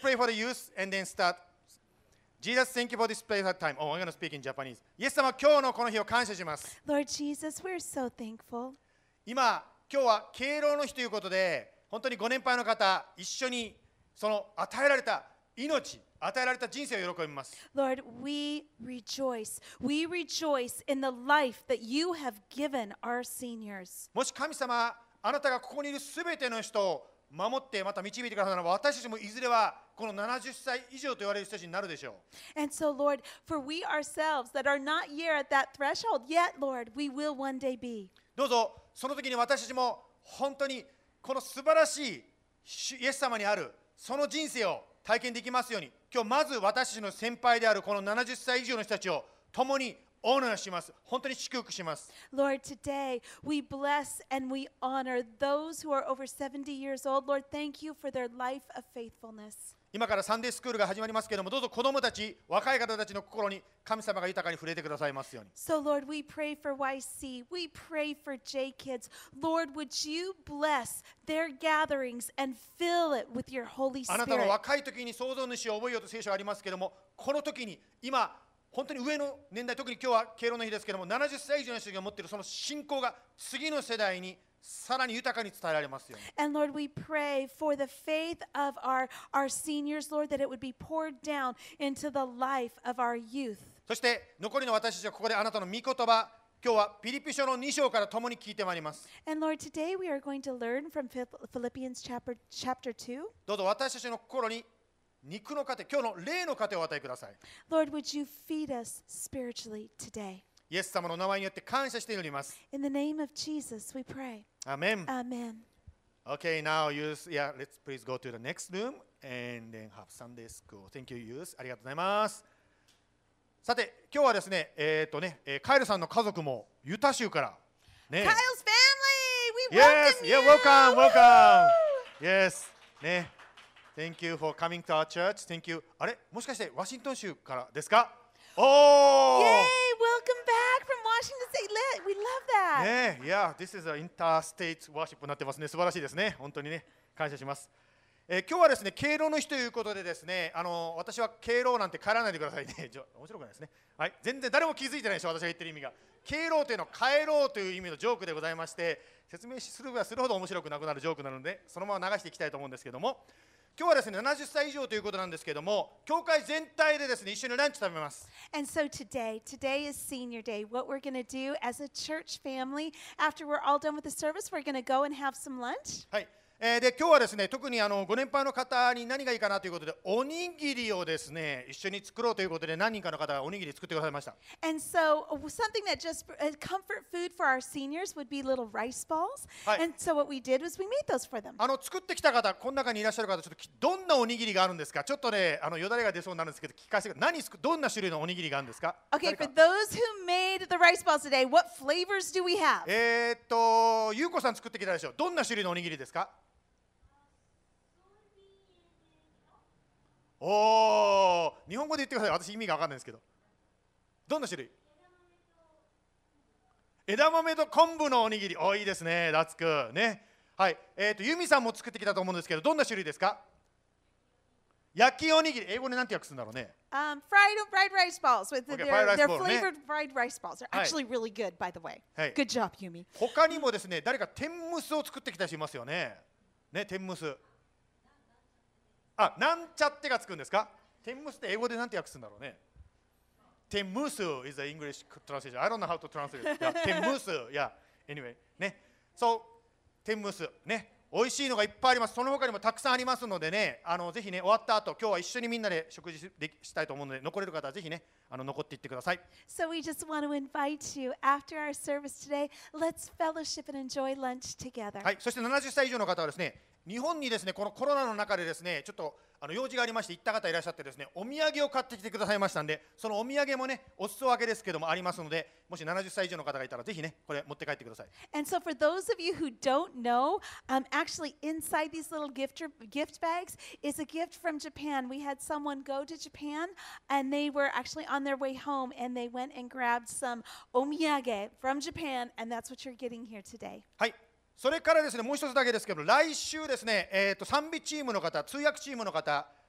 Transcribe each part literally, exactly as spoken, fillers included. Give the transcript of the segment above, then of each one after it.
pray for the youth and then start. Jesus, thank you for this place at time. Oh, I'm going to speak in Japanese. イエス様、今日のこの日を感謝します。 Lord Jesus, we're so thankful. 今、今日は敬老の日ということで、本当にご年配の方、一緒にその与えられた命、与えられた人生を喜びます。 Lord, we rejoice. We rejoice in the life that you have given our seniors. もし神様、あなたがここにいるすべての人を守ってまた導いてくださるならば、私たちもいずれはこのななじゅっさい以上と言われる人たちになるでしょう。 And so, Lord, for we ourselves that are not yet at that threshold, yet, Lord, we will one day be. どうぞその時に私たちも本当にこの素晴らしいイエス様にあるその人生を体験できますように、今日まず私たちの先輩であるこのななじゅっさい以上の人たちを共にオーナーします。本当に祝福します。 Lord, today we bless and we honor those who are over seventy years old. Lord, thank you for their life of faithfulness. 今からサンデースクールが始まりますけれども、どうぞ子どもたち、若い方たちの心に神様が豊かに触れてくださいますように。 So, Lord, we pray for Y C. We pray for J Kids. Lord, would you bless their gatherings and fill it with your Holy あなたの Spirit? 若い時に創造主を覚えようと聖書がありますけれども、この時に今本当に上の年代、特に今日は敬老の日ですけれども、ななじゅっさい以上の人が持っているその信仰が次の世代にさらに豊かに伝えられますように。 And Lord, we pray for the faith of our, our seniors, Lord, that it would be poured down into the life of our youth. そして残りの私たちはここであなたの御言葉、今日はピリピ書のに章から共に聞いてまいります。 And Lord, today we are going to learn from Philippians chapter, chapter two. どうぞ私たちの心に肉の糧、今日の霊の糧をお与えください。 Lord, would you feed us spiritually today? イエス様の名前によって感謝して祈ります。 In the name of Jesus, we pray. アーメン。 Amen. Okay, now youth, yeah, let's please go to the next room and then have Sunday school. Thank you, youth. ありがとうございます。さて、今日はですね、えっとね、えーカイルさんの家族もユタ州からね。 Kyle's family, we Yes, welcome yeah, you. welcome, welcome. Yes, ね。Thank you for coming to our church. Thank you. あれ、もしかしてワシントン州からですか？おー。 Yay, welcome back from Washington State. Le- We love that. ねえ、いや、This is a interstate worship になってますね。素晴らしいですね。本当にね、感謝します。えー今日はですね、敬老の日ということでですね、あの私は敬老なんて帰らないでくださいね。じゃ面白くないですね。はい、全然誰も気づいてないでしょ、私が言ってる意味が。敬老というのは帰ろうという意味のジョークでございまして、説明するばするほど面白くなくなるジョークなので、そのまま流していきたいと思うんですけども、今日はですね、ななじゅっさい以上ということなんですけども、教会全体でですね、一緒にランチ食べます。 And so today, today is senior day. What we're going to do as a church family, after we're all done with the service, we're going to go and have some lunch. はい。えーで今日はですね、特にあのご年配の方に何がいいかなということで、おにぎりをですね、一緒に作ろうということで、何人かの方がおにぎり作ってくださいました。 And so uh, something that just uh, comfort food for our seniors would be little rice balls. はい。 And so what we did was we made those for them. あの作ってきた方、この中にいらっしゃる方、ちょっときどんなおにぎりがあるんですか？ちょっとね、あのよだれが出そうになるんですけど、聞かせてください。何すくどんな種類のおにぎりがあるんですか？ Okay, 誰か for those who made the rice balls today, what flavors do we have? えーっと、ゆうこさん作ってきたでしょ。どんな種類のおにぎりですか？おー、日本語で言ってください。私意味が分かんないんですけど。どんな種類？枝豆と昆布のおにぎり。おー、いいですね。ラツクね。はい。えーっと、ユミさんも作ってきたと思うんですけど、どんな種類ですか？焼きおにぎり。英語で何て訳すんだろうね。 Um, fried fried rice balls with Okay, their, fried rice their ball, flavored fried rice balls. They're Hi. actually really good, by the way. Hey. Good job, Yumi. 他にもですね、誰か天むすを作ってきた人いますよね。ね、天むす。あ、なんちゃってがつくんですか？天むすって英語でなんて訳すんだろうね。天むす is the English translation. I don't know how to translate it. Yeah, 天むす。Yeah, anyway. ね。そう、天むす。ね。美味しいのがいっぱいあります。その他にもたくさんありますのでね、あのぜひね、終わった後、今日は一緒にみんなで食事でしたいと思うので、残れる方はぜひね、あの残っていってください。 So we just want to invite you after our service today. Let's fellowship and enjoy lunch together. はい、そしてななじゅっさい以上の方はですね、日本にですね、このコロナの中でですね、ちょっとあの用事がありまして行った方いらっしゃってですね、お土産を買ってきてくださいましたんで、そのお土産もね、お裾分けですけどもありますので、もしななじゅっさい以上の方がいたらぜひね、これ持って帰ってください。 And so for those of you who don't know, um, actually inside these little gift gift bags is a gift from Japan. We had someone go to Japan and they were actually on their way home and they went and grabbed some omiyage from Japan, and that's what you're getting here today. はい。それからですね、もう一つだけですけど、来週ですね、えーと賛美チームの方、通訳チームの方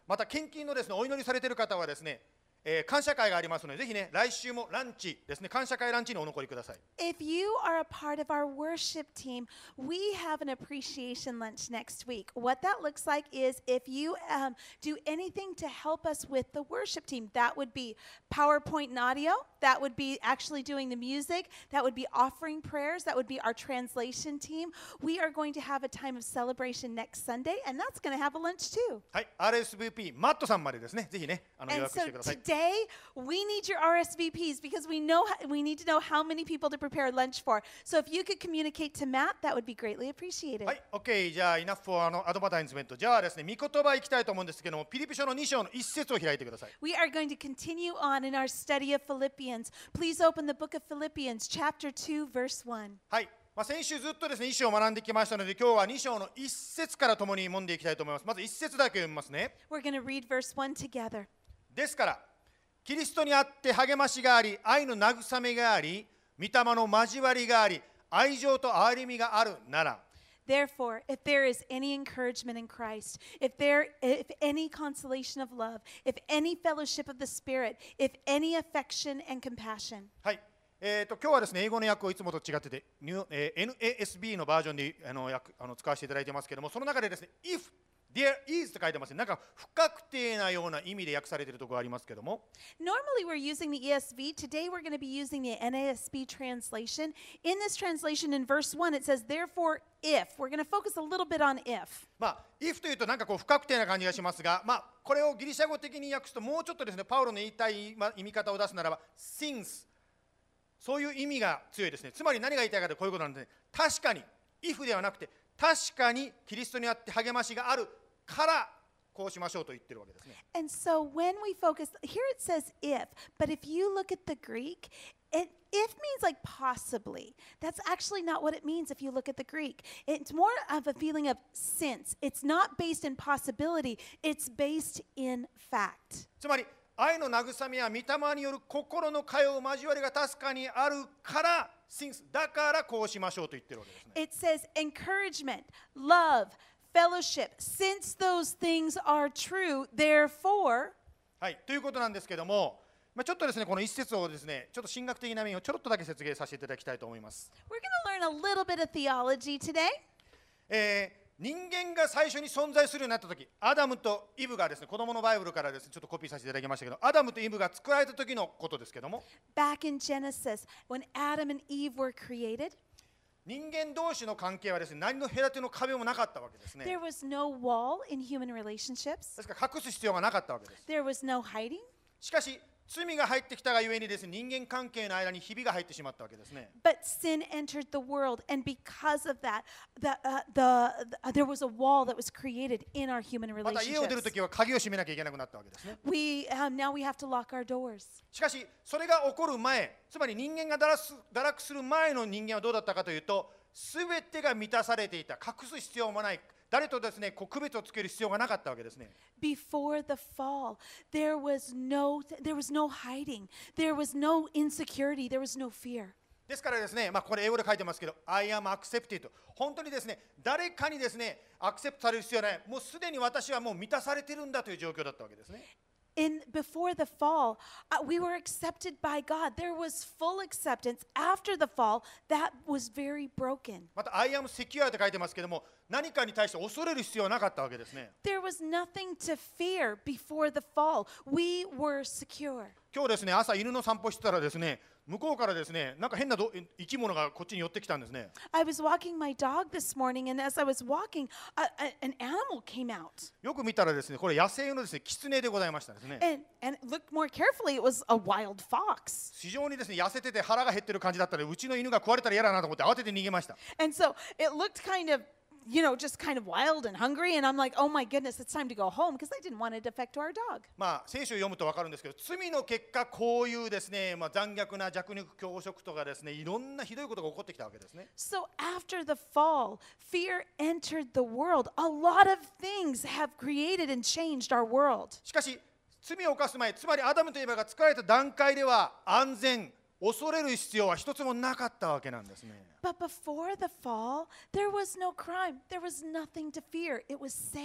また献金のですねお祈りされている方はですね、えー感謝会がありますので、ぜひね、来週もランチですね、感謝会ランチにお残りください。 If you are a part of our worship team, we have an appreciation lunch next week. What that looks like is if you um, do anything to help us with the worship team, that would be PowerPoint and audio, that would be actually doing the music, that would be offering prayers, that would be our translation team. We are going to have a time of celebration next Sunday, and that's going to have a lunch too. はい、アールエスブイピー マットさんまでですね、ぜひね、あの予 And 約し so てください。 today we need your R S V Ps because we know ho- we need to know how many people to prepare lunch for. So if you could communicate to Matt, that would be greatly appreciated. はい、OK、じゃあ、イナフォーあのアドバタイズメント。じゃあですね、御言葉いきたいと思うんですけども、ピリピ書のに章の一節を開いてください。 We are going to continue on in our study of Philippians. Please open the book of Philippians, chapter two, verse one. はい、まあ、先週ずっとですね、一章を学んできましたので、今日はに章の一節から共に読んでいきたいと思います。まず一節だけ読みますね。 We're going to read verse one together. ですから、キリストにあって励ましがあり、愛の慰めがあり、御霊の交わりがあり、愛情と憐れみがあるなら、 Therefore, if there is any encouragement in Christ, if there if any consolation of love, if any fellowship of the Spirit, if any affection and compassion. はい、えー、と今日はですね、英語の訳をいつもと違ってて、ニューえー エヌエーエスビー のバージョンであの訳あの使わせていただいてますけども、その中でですね、if there is と書いてますね。なんか不確定なような意味で訳されているところがありますけども、 Normally, we're using the E S V. Today, we're going to be using the N A S B translation. In this translation, in verse one, it says, Therefore, if. We're going to focus a little bit on if. まあ、if というとなんかこう不確定な感じがしますが、まあ、これをギリシャ語的に訳すともうちょっとですね、パウロの言いたいまあ意味方を出すならば、since。そういう意味が強いですね。つまり何が言いたいかというとこういうことなんですね。確かに、if ではなくて、確かにキリストにあって励ましがあるからこうしましょうと言ってるわけですね。 And so, when we focus, here it says if, but if you look at the Greek, it, if means like possibly. That's actually not what it means if you look at the Greek. It's more of a feeling of since. It's not based in possibility, it's based in fact. つまり、愛の慰めや御霊による心の通う交わりが確かにあるから、since だからこうしましょうと言ってるわけですね。 It says encouragement, love, fellowship. Since those things are true, therefore, はい、ということなんですけども、まあ、ちょっとですね、この一節をですね、ちょっと神学的な面をちょろっとだけ説明させていただきたいと思います。 we're going to learn a little bit of theology today. えー人間が最初に存在するようになったとき、アダムとイブがですね、子供のバイブルからですね、ちょっとコピーさせていただきましたけど、アダムとイブが作られた時のことですけども、 Back in Genesis, when Adam and Eve were created, 人間同士の関係はですね、何の隔ての壁もなかったわけですね。 there was no wall in human relationships. ですから隠す必要がなかったわけです。 There was no hiding. しかし、罪が入ってきたがゆえにですね、人間関係の間にひびが入ってしまったわけですね。 But sin entered the world, and because of that, the, uh, the, the, there was a wall that was created in our human また家を出ると relationships. きは鍵を閉めなきゃいけなくなったわけですね。 We, um, now we have to lock our doors. しかし、それが起こる前、つまり人間が堕落す堕落する前の人間はどうだったかというと、すべてが満たされていた、隠す必要もない、誰とですね、こう区別をつける必要がなかったわけですね。 Before the fall, there was no, there was no hiding. There was no insecurity. There was no fear. ですからですね、まあ、これ英語で書いてますけど、I am accepted。本当にですね、誰かにですね、アクセプトされる必要はない。もうすでに私はもう満たされてるんだという状況だったわけですね。 In before the fall, uh, we were accepted by God. There was full acceptance. After the fall, that was very broken. また、I am secure と書いてますけども、何かに対して恐れる必要はなかったわけですね。 There was nothing to fear before the fall. We were secure. 今日ですね、朝犬の散歩してたらですね、向こうからですね、なんか変など生き物がこっちに寄ってきたんですね。 I was walking my dog this morning, and as I was walking, a, a, an animal came out. よく見たらですね、これ野生のですね、キツネでございましたですね。 And, and looked more carefully, it was a wild fox. 非常にですね、痩せてて腹が減ってる感じだったので、うちの犬が食われたら嫌だなと思って慌てて逃げました。 And so it looked kind of, you know, just kind of wild and hungry. And I'm like, oh my goodness, it's time to go home because I didn't want it to affect our dog. まあ、聖書を読むと分かるんですけど、罪の結果、こういうですね、まあ、残虐な弱肉強食とかですね、いろんなひどいことが起こってきたわけですね。 So after the fall, fear entered the world. A lot of things have created and changed our world. しかし、罪を犯す前、つまりアダムとエバが作られた段階では、安全、恐れる必要は一つもなかったわけなんですね。 But before the fall, there was no crime. There was nothing to fear. It was safe.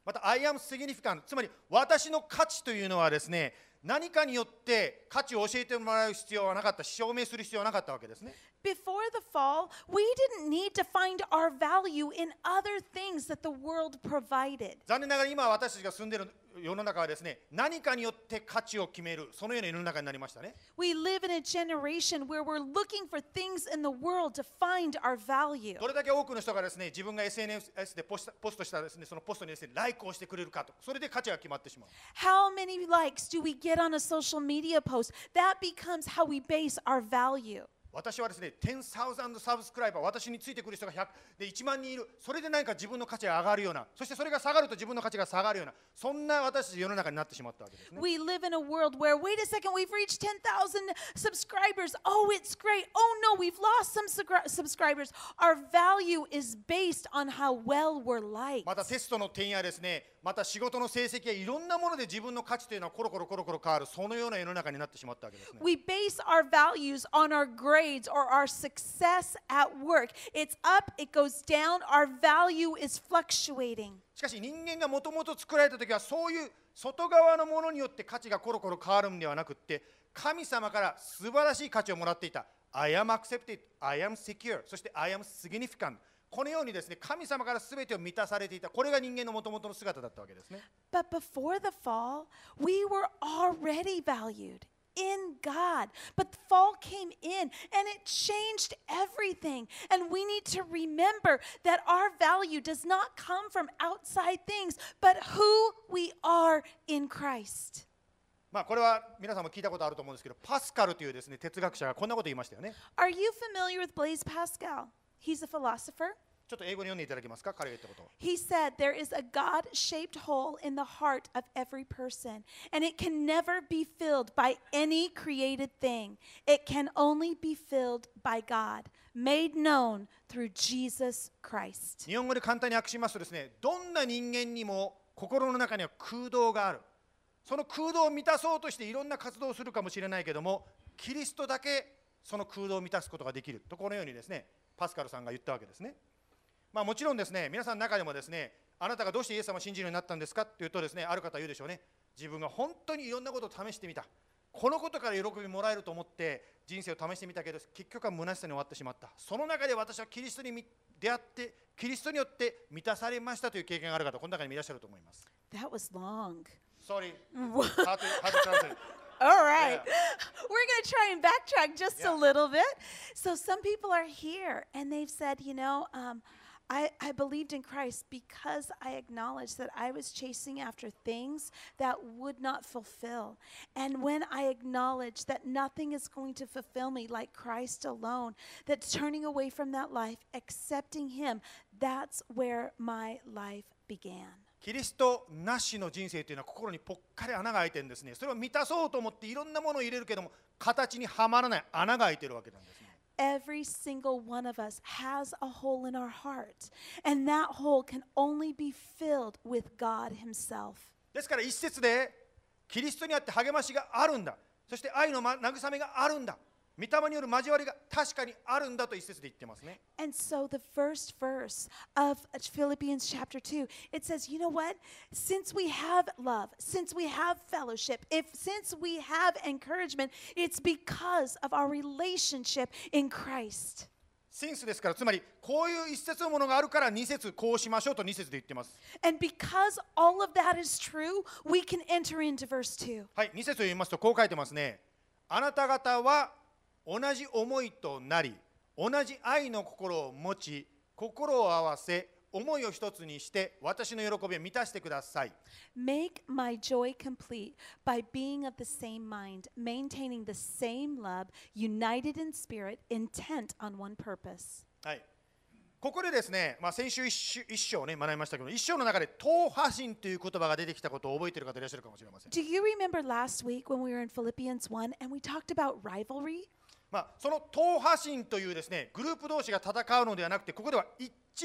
また I am significant、 つまり私の価値というのはですね、何かによって価値を教えてもらう必要はなかった、証明する必要はなかったわけですね。 Before the fall, we didn't need to find our value in other things that the world provided. 残念ながら今私たちが住んでいる世の中はですね、何かによって価値を決める、そのような世の中になりましたね。 We live in a generation where we're looking for things in the world to find our value. どれだけ多くの人がですね、自分が エスエヌエス でポスト、ポストしたですね、そのポストにですね、ライクをしてくれるかと、それで価値が決まってしまう。 How many likes do we get on a social media post? That becomes how we base our value. 私はですね、じゅうさんサブスクライバー、私についてくる人がひゃくでいちまん人いる、それで何か自分の価値が上がるような、そしてそれが下がると自分の価値が下がるような、そんな私たち世の中になってしまったわけですね。 We live in a world where, wait a second, we've reached ten thousand subscribers. Oh, it's great. Oh, no, we've lost some subscri- subscribers. Our value is based on how well we're liked. またテストの点やですね、また仕事の成績やいろんなもので自分の価値というのはコロコロコロコロ変わる、そのような世の中になってしまったわけですね。 We base our values on our grades or our success at work. It's up, it goes down. Our value is fluctuating. しかし人間がもともと作られた時はそういう外側のものによって価値がコロコロ変わるんではなくって、神様から素晴らしい価値をもらっていた。I am accepted, I am secure、そして I am significant。このようにですね、神様から全てを満たされていた。これが人間のもともとの姿だったわけですね。 But before the fall, we were already valued in God. But the fall came in and it changed everything. And we need to remember that our value does not come from outside things, but who we are in Christ. まあこれは皆さんも聞いたことあると思うんですけど、パスカルというですね、哲学者がこんなこと言いましたよね。 Are you familiar with Blaise Pascal? He's a philosopher. ちょっと英語に読んでいただけますか、彼が言ったこと。 He said there is a God-shaped hole in the heart of every person, and it can never be filled by any created thing. It can only be filled by God, made known through Jesus Christ. 日本語で簡単に訳しますとですね、どんな人間にも心の中には空洞がある。その空洞を満たそうとしていろんな活動をするかもしれないけども、キリストだけその空洞を満たすことができると、このようにですね、パスカルさんが言ったわけですね。まあ、もちろんですね、皆さんの中でもですね、あなたがどうしてイエス様を信じるようになったんですかっていうとですね、ある方は言うでしょうね。自分が本当にいろんなことを試してみた。このことから喜びもらえると思って人生を試してみたけど、結局は虚しさに終わってしまった。その中で私はキリストに出会って、キリストによって満たされましたという経験がある方、この中にもいらっしゃると思います。 That was long. Sorry, hard to, hard to translate. All right. Yeah. We're going to try and backtrack just Yeah. a little bit. So some people are here and they've said, you know, um, I, I believed in Christ because I acknowledged that I was chasing after things that would not fulfill. And when I acknowledged that nothing is going to fulfill me like Christ alone, that turning away from that life, accepting Him, that's where my life began. キリストなしの人生というのは心にぽっかり穴が開いてるんですね。それを満たそうと思っていろんなものを入れるけども、形にはまらない穴が開いてるわけなんですね。 Every single one of us has a hole in our heart, and that hole can only be filled with God Himself. ですから一節でキリストにあって励ましがあるんだ。そして愛の慰めがあるんだ。御霊による交わりが確かにあるんだと一節で言ってますね。 And so the first verse of Philippians chapter two, it says, you know what? Since we have love, since we have fellowship, if since we have encouragement, it's because of our relationship in Christ. シンスですから、つまりこういう一節のものがあるから二節こうしましょうと二節で言ってます。 And because all of that is true, we can enter into verse two. はい、二節を読みますとこう書いてますね。あなた方は同じ思いとなり、同じ愛の心を持ち、心を合わせ、思いを一つにして私の喜びを満たしてください。 Make my joy complete by being of the same mind, maintaining the same love, united in spirit, intent on one purpose. はい。ここでですね、まあ、先週一章一章ね学びましたけど、一章の中で党派心という言葉が出てきたことを覚えている方いらっしゃるかもしれません。 Do you remember last week when we were in Philippians one and we talked about rivalry? まあ、その党派心というですねグループ同士が戦うのではなくて、ここでは一致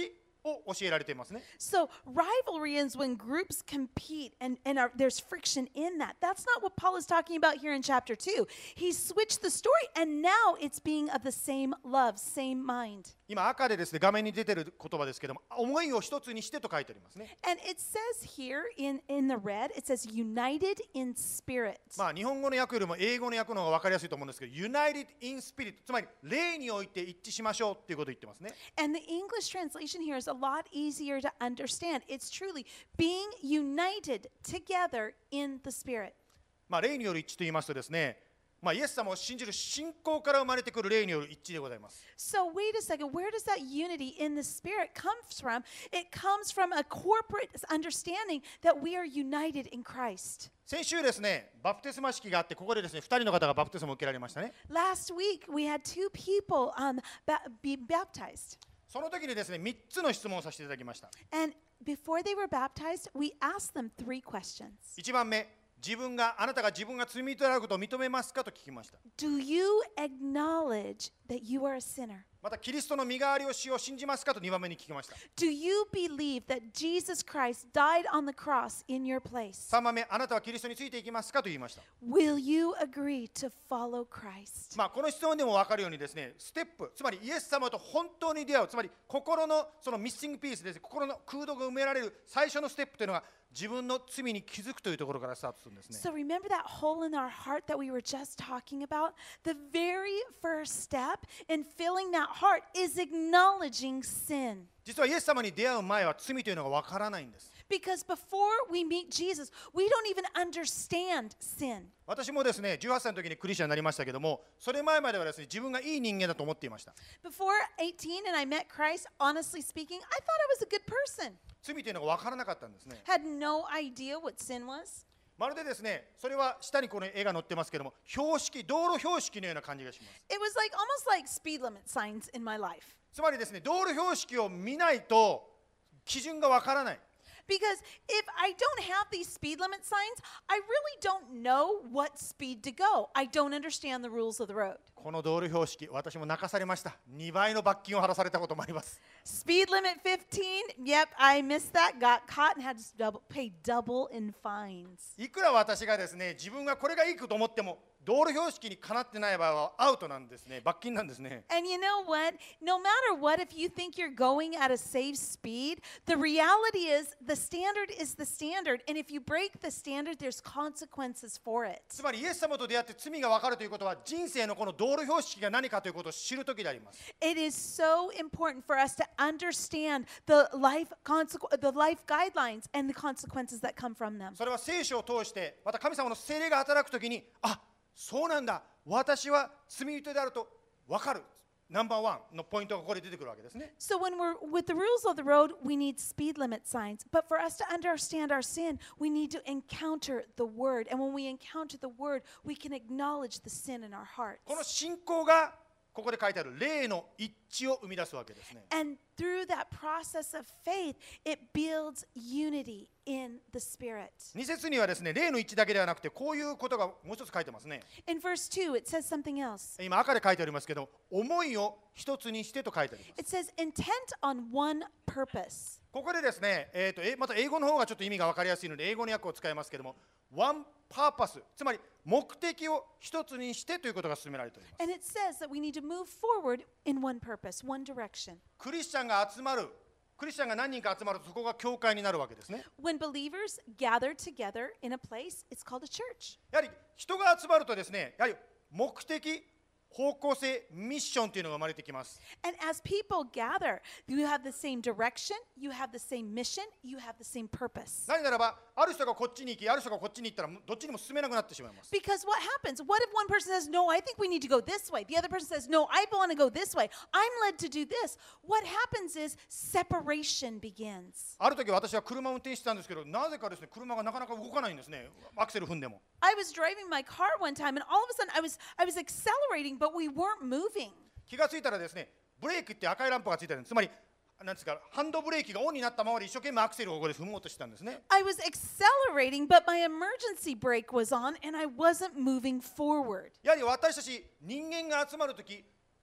を教えられていますね。 So rivalry is when groups compete and, and are, there's friction in that. That's not what Paul is talking about here in chapter two. He switched the story and now it's being of the same love, same mind. 今赤でですね、画面に出てる言葉ですけども、思いを一つにしてと書いてありますね。 And it says here in, in the red, it says united in spirit. まあ日本語の訳よりも英語の訳の方が分かりやすいと思うんですけど、United in Spirit、つまり霊において一致しましょうっていうことを言ってますね。 And the English translation here is a lot easier to understand. It's truly being united together in the spirit. まあ霊による一致と言いますとですね、まあイエス様を信じる信仰から生まれてくる霊による一致でございます。 So wait a second, where does that unity in the spirit come from? It comes from a corporate understanding that we are united in Christ. 先週ですね、バプテスマ式があって、ここでですね、ふたりの方がバプテスマを受けられましたね。 Last week we had two people um, ba- be baptized. その時にですね、みっつの質問をさせていただきました。 And before they were baptized, we asked them three questions. いちばんめ、自分があなたが自分が罪人であることを認めますかと聞きました。 Do you acknowledge that you are a sinner? またキリストの身代わりをしを信じますかとにばんめに聞きました。 Do you believe that Jesus Christ died on the cross in your place? さんばんめ、あなたはキリストについていきますかと言いました。 Will you agree to follow Christ? まあこの質問でも分かるようにですね、ステップ、つまりイエス様と本当に出会う、つまり心のそのミッシングピースですね、心の空洞が埋められる最初のステップというのが自分の罪に気づくというところからスタートするんですね。 So remember that hole in our heart that we were just talking about? The very first step in filling that heart is acknowledging sin. 実はイエス様に出会う前は罪というのが分からないんです。 Because before we meet Jesus, we don't even understand sin. 私もですね、じゅうはっさいの時にクリスチャンになりましたけども、それ前まではですね、自分がいい人間だと思っていました。 Before eighteen and I met Christ, honestly speaking, I thought I was a good person. 罪というのが分からなかったんですね。 Had no idea what sin was. まるでですね、それは下にこの絵が載ってますけども、標識、道路標識のような感じがします。 It was like almost like speed limit signs in my life. つまりですね、道路標識を見ないと基準が分からない。 Because if I don't have these speed limit signs, I really don't know what speed to go. I don't understand the rules of the road. この道路標識、私も泣かされました。にばいの罰金を払わされたこともあります。 Speed limit fifteen, yep, I missed that, got caught and had to double, pay double in fines. いくら私がですね、自分がこれがいいと思っても、道路標識にかなってない場合はアウトなんですね。罰金なんですね。 And you know what? No matter what, if you think you're going at a safe speed, the reality is the standard is the standard. And if you break the standard, there's consequences for it. つまりイエス様と出会って罪が分かるということは、人生のこの道路標識が何かということを知るときであります。 It is so important for us to understand the life, consequ- the life guidelines and the consequences that come from them. それは聖書を通して、また神様の聖霊が働くときに、あ、そうなんだ、私は罪人であると分かる。ナンバーワンのポイントがここで出てくるわけですね。 So when we're with the rules of the road, we need speed limit signs. But for us to understand our sin, we need to encounter the word. And when we encounter the word, we can acknowledge the sin in our hearts. この信仰がここで書いてある霊の一致を生み出すわけですね。 And through that process of faith, it builds unity in the spirit. に節にはですね、霊の一致だけではなくて、こういうことがもう一つ書いてますね。 In verse two, it says something else. 今赤で書いてありますけど、思いを一つにしてと書いてあります。 It says intent on one purpose. ここでですね、えーと、えまた英語の方がちょっと意味が分かりやすいので、英語の訳を使いますけども、one purpose、つまり目的を一つにしてということが進められております。 And it says that we need to move forward in one purpose, one direction. クリスチャンが集まる、クリスチャンが何人か集まると、そこが教会になるわけですね。 When believers gather together in a place, it's called a church. やはり人が集まるとですね、やはり目的、方向性、ミッションというのが生まれてきます。 And as people gather, you have the same direction, you have the same mission, you have the same purpose. なぜならば、ある人がこっちに行き、ある人がこっちに行ったら、どっちにも進めなくなってしまいます。 Because what happens? What if one person says, no, I think we need to go this way? The other person says, no, I want to go this way. I'm led to do this. What happens is separation begins. ある時私は車を運転してたんですけど、なぜかですね、車がなかなか動かないんですね。アクセル踏んでも。 I was driving my car one time and all of a sudden I was I was accelerating, but we weren't moving. 気がついたらですね、ブレーキって赤いランプがついてるんです。つまり、なんですか、ハンドブレーキがオンになったままで一生懸命アクセルをここで踏もうとしてたんですね。 I was accelerating, but my emergency brake was on and I wasn't moving forward. やはり私たち人間が集まるとき、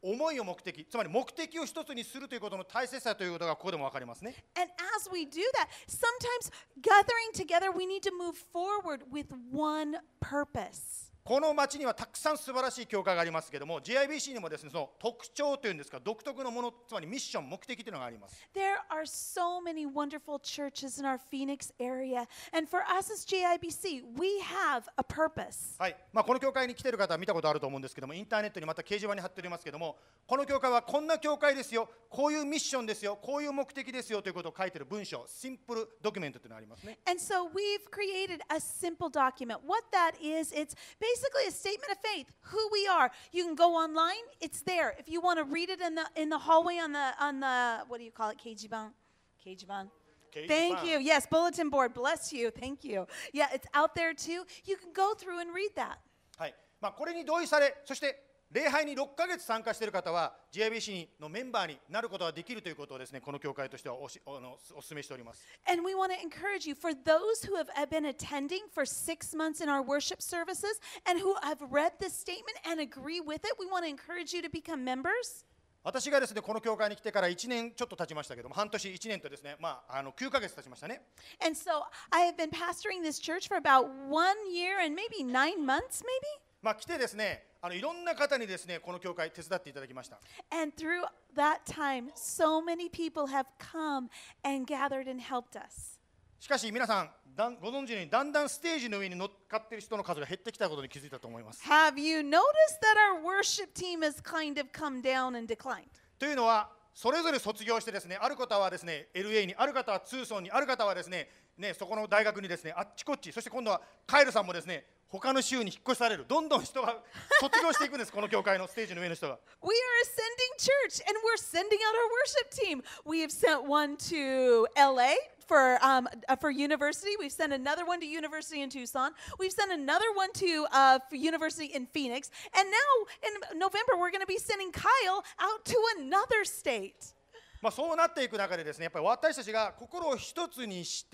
思いを目的、つまり目的を一つにするということの大切さということがここでも分かりますね。 And as we do that, sometimes gathering together, we need to move forward with one purpose. この町にはたくさん素晴らしい教会がありますけれども、 ジェイアイビーシー にもですね、その特徴というんですか、独特のもの、つまりミッション、目的というのがあります。 There are so many wonderful churches in our Phoenix area. And for us as J I B C, we have a purpose. はい、まあ、この教会に来ている方は見たことあると思うんですけども、インターネットにまた掲示板に貼っておりますけども、この教会はこんな教会ですよ、こういうミッションですよ、こういう目的ですよということを書いている文章、シンプルドキュメントというのがありますね。 And so we've created a simple document. What that is, it's basically a statement of faith, who we are. You can go online, it's there. If you want to read it in the in the hallway on the on the what do you call it? Keijiban. Keijiban. Thank you. Yes, bulletin board. Bless you. Thank you. Yeah, it's out there too. You can go through and read that. はい、まあ、これに同意され、そして礼拝にろっかげつ参加している方は ジェイアイビーシー のメンバーになることができるということをですね、この教会としてはおしあのお勧めしております。 And we want to encourage you, for those who have been attending for six months in our worship services and who have read this statement and agree with it, we want to encourage you to become members. 私がですね、この教会に来てからいちねんちょっと経ちましたけども、半年いちねんとですね、まあ、あのきゅうかげつ経ちましたね。 And so I have been pastoring this church for about one year and maybe nine months, maybe. まあ、来てですね、あのいろんな方にですね、この教会手伝っていただきました。 And through that time, so many people have come and gathered and helped us. しかし皆さん、だんご存知のようにだんだんステージの上に乗っかっている人の数が減ってきたことに気づいたと思います。 Have you noticed that our worship team has kind of come down and declined? というのは、それぞれ卒業してですね、ある方はですね エルエー に、ある方はツーソンに、ある方はですね、ねそこの大学にですね、あっちこっち、そして今度はカエルさんもですね、他の州に引っ越される、どんどん人が卒業していくんです、この教会のステージの上の人が。 We are a sending church and we're sending out our worship team. We have sent one to L A for um, uh, for university. We've sent another one to university in Tucson. We've sent another one to uh, for university in Phoenix. And now in November, we're going to be sending Kyle out to another state. まあそうなっていく中でですね、やっぱり私たちが心を一つにして、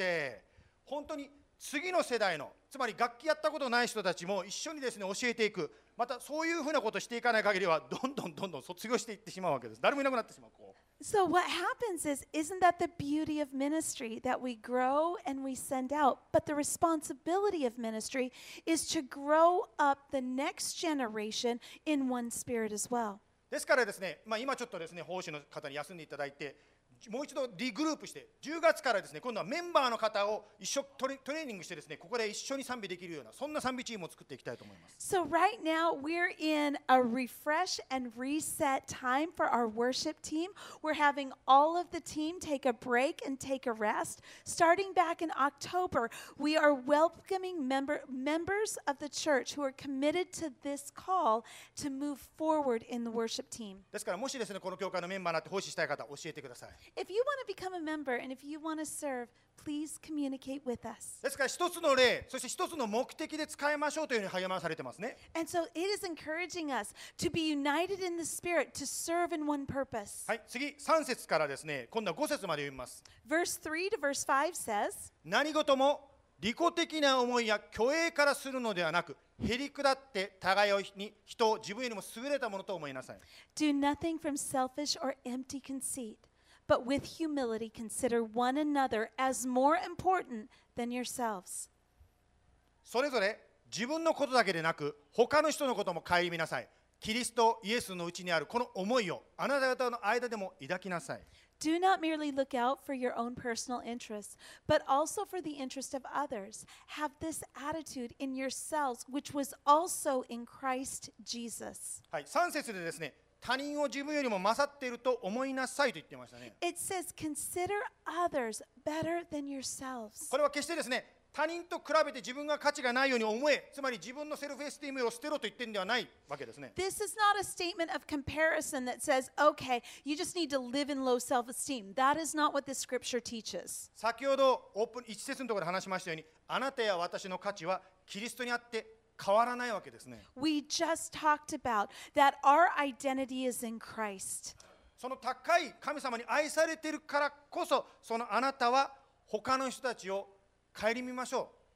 本当に次の世代の、つまり楽器やったことない人たちも一緒にですね教えていく、またそういうふうなことをしていかない限りは、どんどんどんどん卒業していってしまうわけです。誰もいなくなってしまう。こう So what happens is, isn't that the beauty of ministry, that we grow and we send out? But the responsibility of ministry is to grow up the next generation in one spirit as well. ですからですね、まあ、今ちょっとですね、奉仕の方に休んでいただいて、もう一度リグループして、じゅうがつからですね、今度はメンバーの方を一緒トレ、トレーニングしてですね、ここで一緒に賛美できるような、そんな賛美チームを作っていきたいと思います。 So right now we're in a refresh and reset time for our worship team. We're having all of the team take a break and take a rest. Starting back in October, we are welcoming member, members of the church who are committed to this call to move forward in the worship team. ですから、もしですね、この教会のメンバーになって奉仕したい方、教えてください。 If you want to become a member and if you want to serve, please communicate with us. ですから一つの例、そして一つの目的で使いましょうというふうに励まされてますね。 And so it is encouraging us to be united in the Spirit, to serve in one purpose. はい、次さん節からですね、今度はご節まで読みます。 Verse three to verse five says, 何事も利己的な思いや虚栄からするのではなく、へりくだって互いに人を自分よりも優れたものと思いなさい。 Do nothing from selfish or empty conceit, but with humility consider one another as more important than yourselves. それぞれ自分のことだけでなく、他の人のことも顧みなさい。キリストイエスのうちにあるこの思いをあなた方の間でも抱きなさい。 Do not merely look out for your own personal interests, but also for the interest of others. Have this attitude in yourselves, which was also in Christ Jesus. はい、さん節でですね、他人を自分よりも勝っていると思いなさいと言っていましたね。 It says, consider others better than yourselves. これは決してですね、他人と比べて自分が価値がないように思え、つまり自分のセルフエスティームを捨てろと言ってるんではないわけですね。 This is not a statement of comparison that says, okay, you just need to live in low self-esteem. That is not what this scripture teaches. 先ほどオープンいち節のところで話しましたように、あなたや私の価値はキリストにあって変わらないわけですね。 We just talked about that our identity is in Christ. その高い神様に愛されているからこそ、そのあなたは他の人たちを顧みましょう。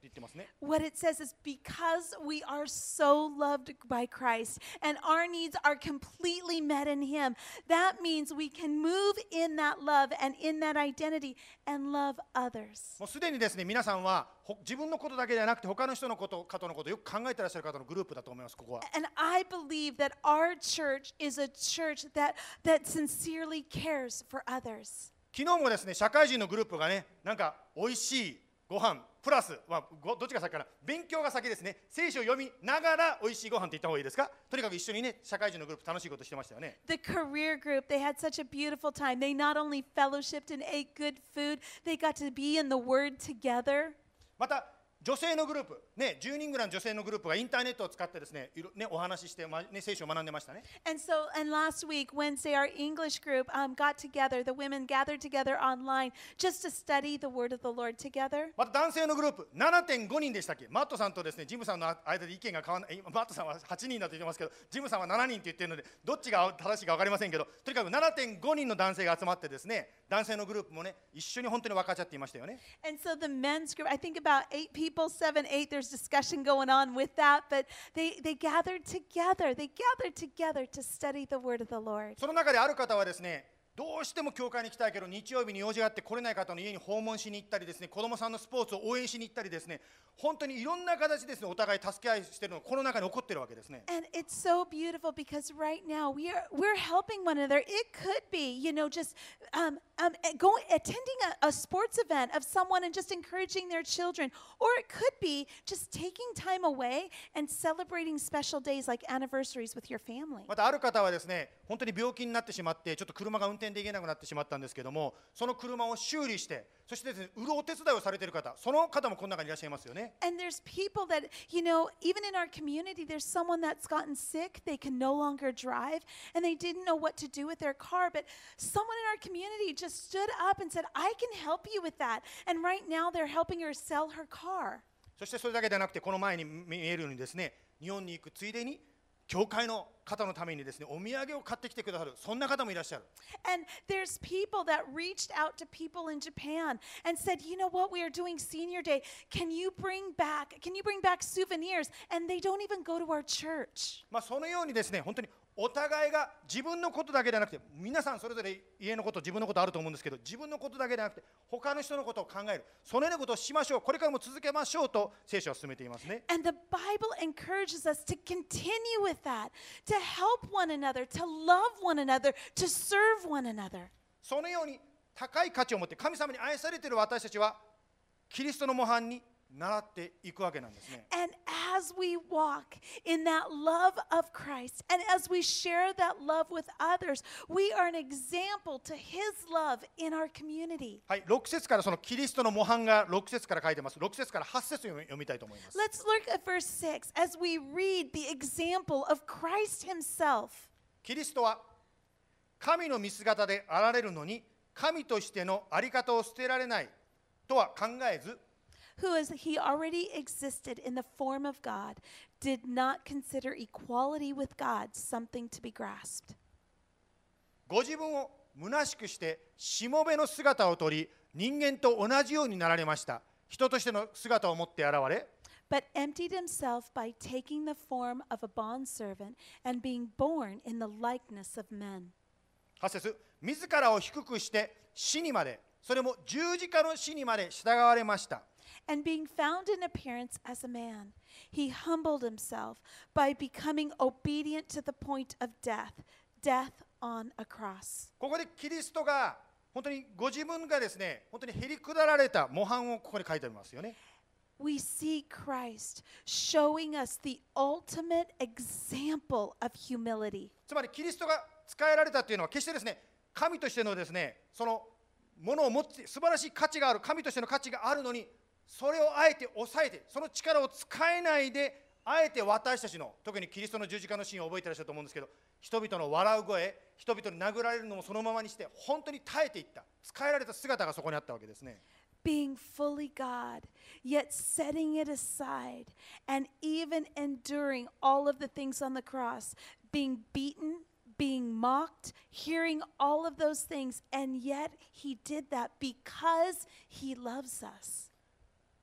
言ってますね。 What it says is because we are so loved by Christ and our needs are completely met in Him, that means we can move in that love and in that identity and love others. もうすでにですね、皆さんはほ自分のことだけではなくて他の人のこと方のことをよく考えていらっしゃる方のグループだと思います。ここは。 And I believe that our church is a church that, that sincerely cares for others. 昨日もですね、社会人のグループがね、なんか美味しいご飯プラス、まあ、ごどっちが先かな、勉強が先ですね。聖書を読みながら美味しいご飯って言った方がいいですか。とにかく一緒にね、社会人のグループ楽しいことしてましたよね。 The career group, they had such a beautiful time. They not only fellowshipped and ate good food, they got to be in the Word together. また女性のグループ、ね、じゅうにんぐらいの女性のグループがインターネットを使ってですね、いろね、お話しして、まね、聖書を学んでましたね。 And so, and last week, Wednesday, our English group um, got together. The women gathered together online just to study the Word of the Lord together. また男性のグループ ななてんごにんでしたっけ。マットさんとですね、ジムさんの間で意見が変わらない。マットさんははちにんだと言ってますけど、ジムさんはしちにんって言ってるので、どっちが正しいか分かりませんけど、とにかく ななてんごにんの男性が集まってですね、男性のグループもね、一緒に本当に分かち合っていましたよね。 And so the men's group, I think about eight people, seven, eight, there's discussion going on with that, but they, they gathered together. They gathered together to study the Word of the Lord. その中である方はですね、どうしても教会に行きたいけど日曜日に用事があって来れない方の家に訪問しに行ったりですね、子供さんのスポーツを応援しに行ったりですね、本当にいろんな形ですね、お互い助け合いしているのがこの中に起こっているわけですね。 And it's so beautiful because right now we are we're helping one another. It could be, you know, just um, um, going attending a, a sports event of someone and just encouraging their children, or it could be just taking time away and celebrating special days like anniversaries with your family. またある方はですね、本当に病気になってしまってちょっと車が運転できなくなってしまったんですけども、その車を修理して、そしてですね、売るお手伝いをされている方、その方もこの中にいらっしゃいますよね。 And there's people that, you know, even in our community, there's someone that's gotten sick. They can no longer drive, and they didn't know what to do with their car. But someone in our community just stood up and said, I can help you with that. And right now, they're helping her sell her car. そしてそれだけではなくて、この前に見えるようにですね、日本に行くついでに教会の方のためにですね、お土産を買ってきてくださる、そんな方もいらっしゃる。 And there's people that reached out to people in Japan and said, you know what, we are doing senior day. Can you bring back, can you bring back souvenirs? And they don't even go to our church. まあそのようにですね、本当にお互いが自分のことだけではなくて、皆さんそれぞれ家のこと、自分のことあると思うんですけど、自分のことだけではなくて他の人のことを考える、そのようなことをしましょう、これからも続けましょうと聖書は進めていますね。 And the Bible encourages us to continue with that, to help one another, to love one another, to serve one another. そのように高い価値を持って神様に愛されている私たちはキリストの模範に習っていくわけなんですね。 And as we walk in that love of Christ, and as we share that love with others, we are an example to His love in our community. はい、ろく節からそのキリストの模範がろく節から書いてます。ろく節からはち節を読みたいと思います。 Let's look at verse six as we read the example of Christ Himself. キリストは神の見姿であられるのに神としてのあり方を捨てられないとは考えず、 Who, as he already existed in the form of God, did not consider equality with God something to be grasped. ご自分を虚しくしてしもべの姿をとり、人間と同じようになられました。人としての姿を持って現れ、 But emptied himself by taking the form of a bondservant and being born in the likeness of men. はち節、自らを低くして死にまで、それも十字架の死にまで従われました。 And being found in appearance as a man, he humbled himself by becoming obedient to the point of death, death on a cross. ここでキリストが本当にご自分がですね、本当にへりくだられた模範をここに書いてありますよね。 We see Christ showing us the ultimate example of humility. つまりキリストが使えられたというのは決してですね、神としてのですね、そのものを持って素晴らしい価値がある、神としての価値があるのに、それをあえて抑えて、その力を使えないで、あえて私たちの、特にキリストの十字架のシーンを覚えていらっしゃると思うんですけど、人々の笑う声、人々に殴られるのもそのままにして、本当に耐えていった、使えられた姿がそこにあったわけですね。 Being fully God, yet setting it aside, and even enduring all of the things on the cross, being beaten, being mocked, hearing all of those things, and yet he did that because he loves us.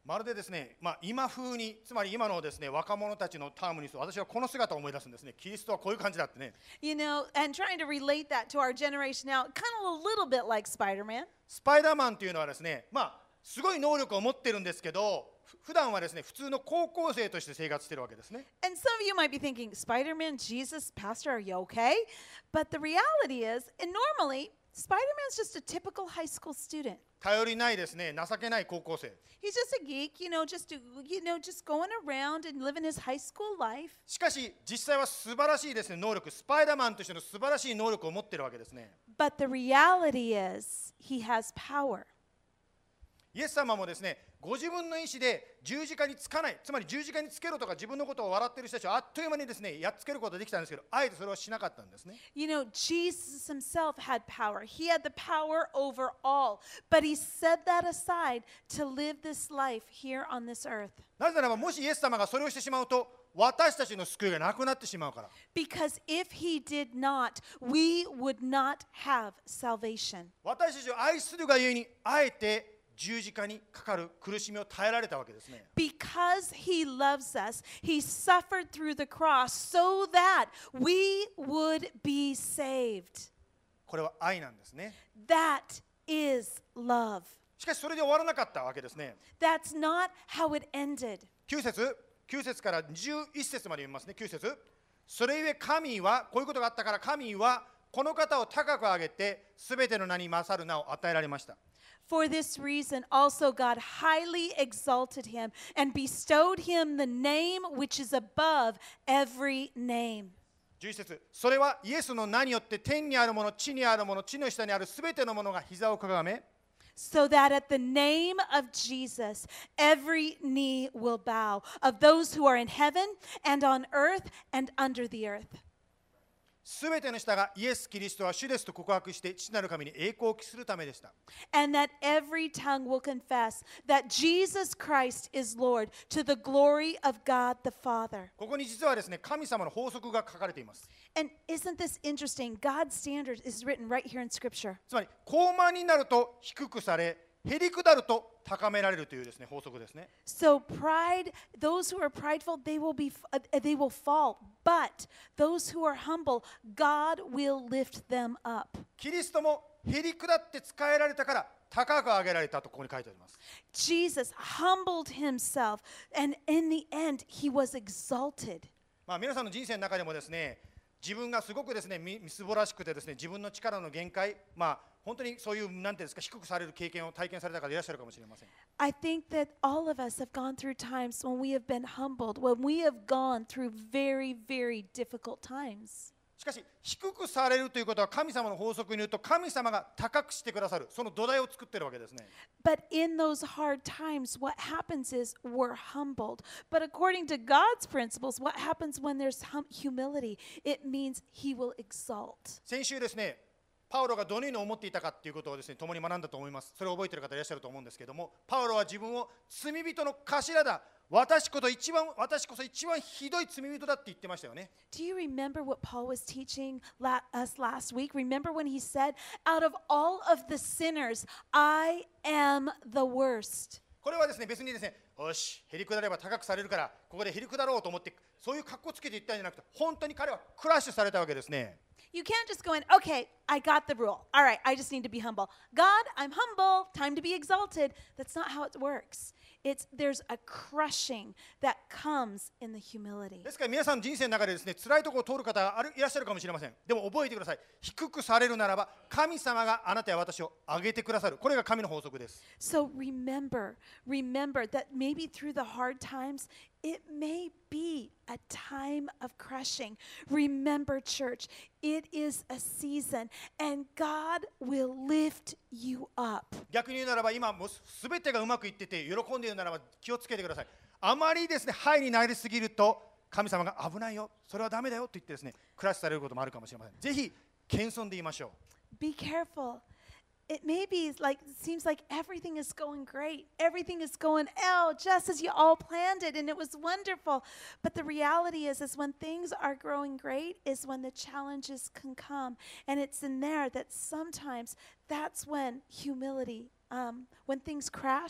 まるでですね、まあ、今風に、つまり今のですね、若者たちのタームにすると、私はこの姿を思い出すんですね。キリストはこういう感じだってね。 You know, and trying to relate that to our generation now, kind of a little bit like Spider-Man. スパイダーマンというのはですね、まあ、すごい能力を持ってるんですけど、ふ普段はですね、普通の高校生として生活してるわけですね。 And some of you might be thinking, Spider-Man, Jesus, Pastor, are you okay? But the reality is, and normally, Spider-Man's just a typical high school student. 頼りないですね、情けない高校生。 He's just a geek, you know, just to, you know, just going around and living his high school life. しかし、実際は素晴らしいですね、能力、スパイダーマンとしての素晴らしい能力を持ってるわけですね。 But the reality is, he has power. イエス様もですね、ご自分の意思で十字架につかない、つまり十字架につけろとか自分のことを笑っている人たちをあっという間にですね、やっつけることができたんですけど、あえてそれはしなかったんですね。 You know, Jesus himself had power. He had the power over all. But he set that aside to live this life here on this earth. なぜならば、もしイエス様がそれをしてしまうと、私たちの救いがなくなってしまうから。 Because if he did not, we would not have salvation. 私たちを愛するがゆえに、あえて十字架にかかる苦しみを耐えられたわけですね。 Because he loves us, he suffered through the cross so that we would be saved. これは愛なんですね。 That is love. しかしそれで終わらなかったわけですね。 That's not how it ended. きゅう節、きゅう節からじゅういち節まで読みますね。きゅう節。それゆえ神は、こういうことがあったから神はこの方を高く上げて、すべての名に勝る名を与えられました。 For this reason, also God highly exalted him and bestowed him the name which is above every name. じゅういち節、それはイエスの名によって天にあるもの、地にあるもの、地の下にあるすべてのものが膝をかがめ、 So that at the name of Jesus, every knee will bow, of those who are in heaven and on earth and under the earth. すべての人がイエス・キリストは主ですと告白して父なる神に栄光を期するためでした。 And that every tongue will confess that Jesus Christ is Lord to the glory of God the Father. ここに実はですね、神様の法則が書かれています。 And isn't this interesting? God's standard is written right here in Scripture. つまり、高慢になると低くされ、へりくだると高められるというですね、法則ですね。 So pride, those who are prideful, they will be, uh, they will fall. But those who are humble, God will lift them up. キリストもへりくだって使えられたから高く上げられたとここに書いてあります。 Jesus humbled himself, and in the end, he was exalted. まあ皆さんの人生の中でもですね、自分がすごくですね、みみすぼらしくてですね、自分の力の限界、まあ本当にそういうなんていうんですか、低くされる経験を体験された方いらっしゃるかもしれません。 I think that all of us have gone through times when we have been humbled, when we have gone through very, very difficult times. しかし低くされるということは神様の法則に言うと神様が高くしてくださるその土台を作っているわけですね。 But in those hard times, what happens is we're humbled. But according to God's principles, what happens when there's hum- humility? It means He will exalt. 先週ですね、パウロがどのように思っていたかということをですね、共に学んだと思います。それを覚えている方いらっしゃると思うんですけども、パウロは自分を罪人の頭だ、私こそ一番私こそ一番ひどい罪人だって言ってましたよね。 Do you remember what Paul was teaching la- us last week? Remember when he said, out of all of the sinners, I am the worst. これはですね、別にですね、よし、へりくだれば高くされるから、ここでへりくだろうと思って、そういう格好つけて言ったんじゃなくて、本当に彼はクラッシュされたわけですね。 You can't just go in, okay, I got the rule. All right, I just need to be humble. God, I'm humble. Time to be exalted. That's not how it works. It's there's a crushing that comes in the humility. ですから皆さんの人生の中でですね、辛いところを通る方があるいらっしゃるかもしれません。でも覚えてください。低くされるならば、神様があなたや私を上げてくださる。これが神の法則です。 So remember, remember that maybe through the hard times, it may be a time of crushing. Remember, church, it is a season, and God will lift you up. 逆に言うならば、今もうすべてがうまくいってて喜んでいるならば気をつけてください。あまりですね、ハイになりすぎると神様が危ないよ、それはダメだよと言ってですね、クラッシュされることもあるかもしれません。ぜひ謙遜で言いましょう。 Be careful. It may be like, it seems like everything is going great. Everything is going, oh, just as you all planned it, and it was wonderful. But the reality is, is when things are growing great is when the challenges can come. And it's in there that sometimes that's when humility, um, when things crash,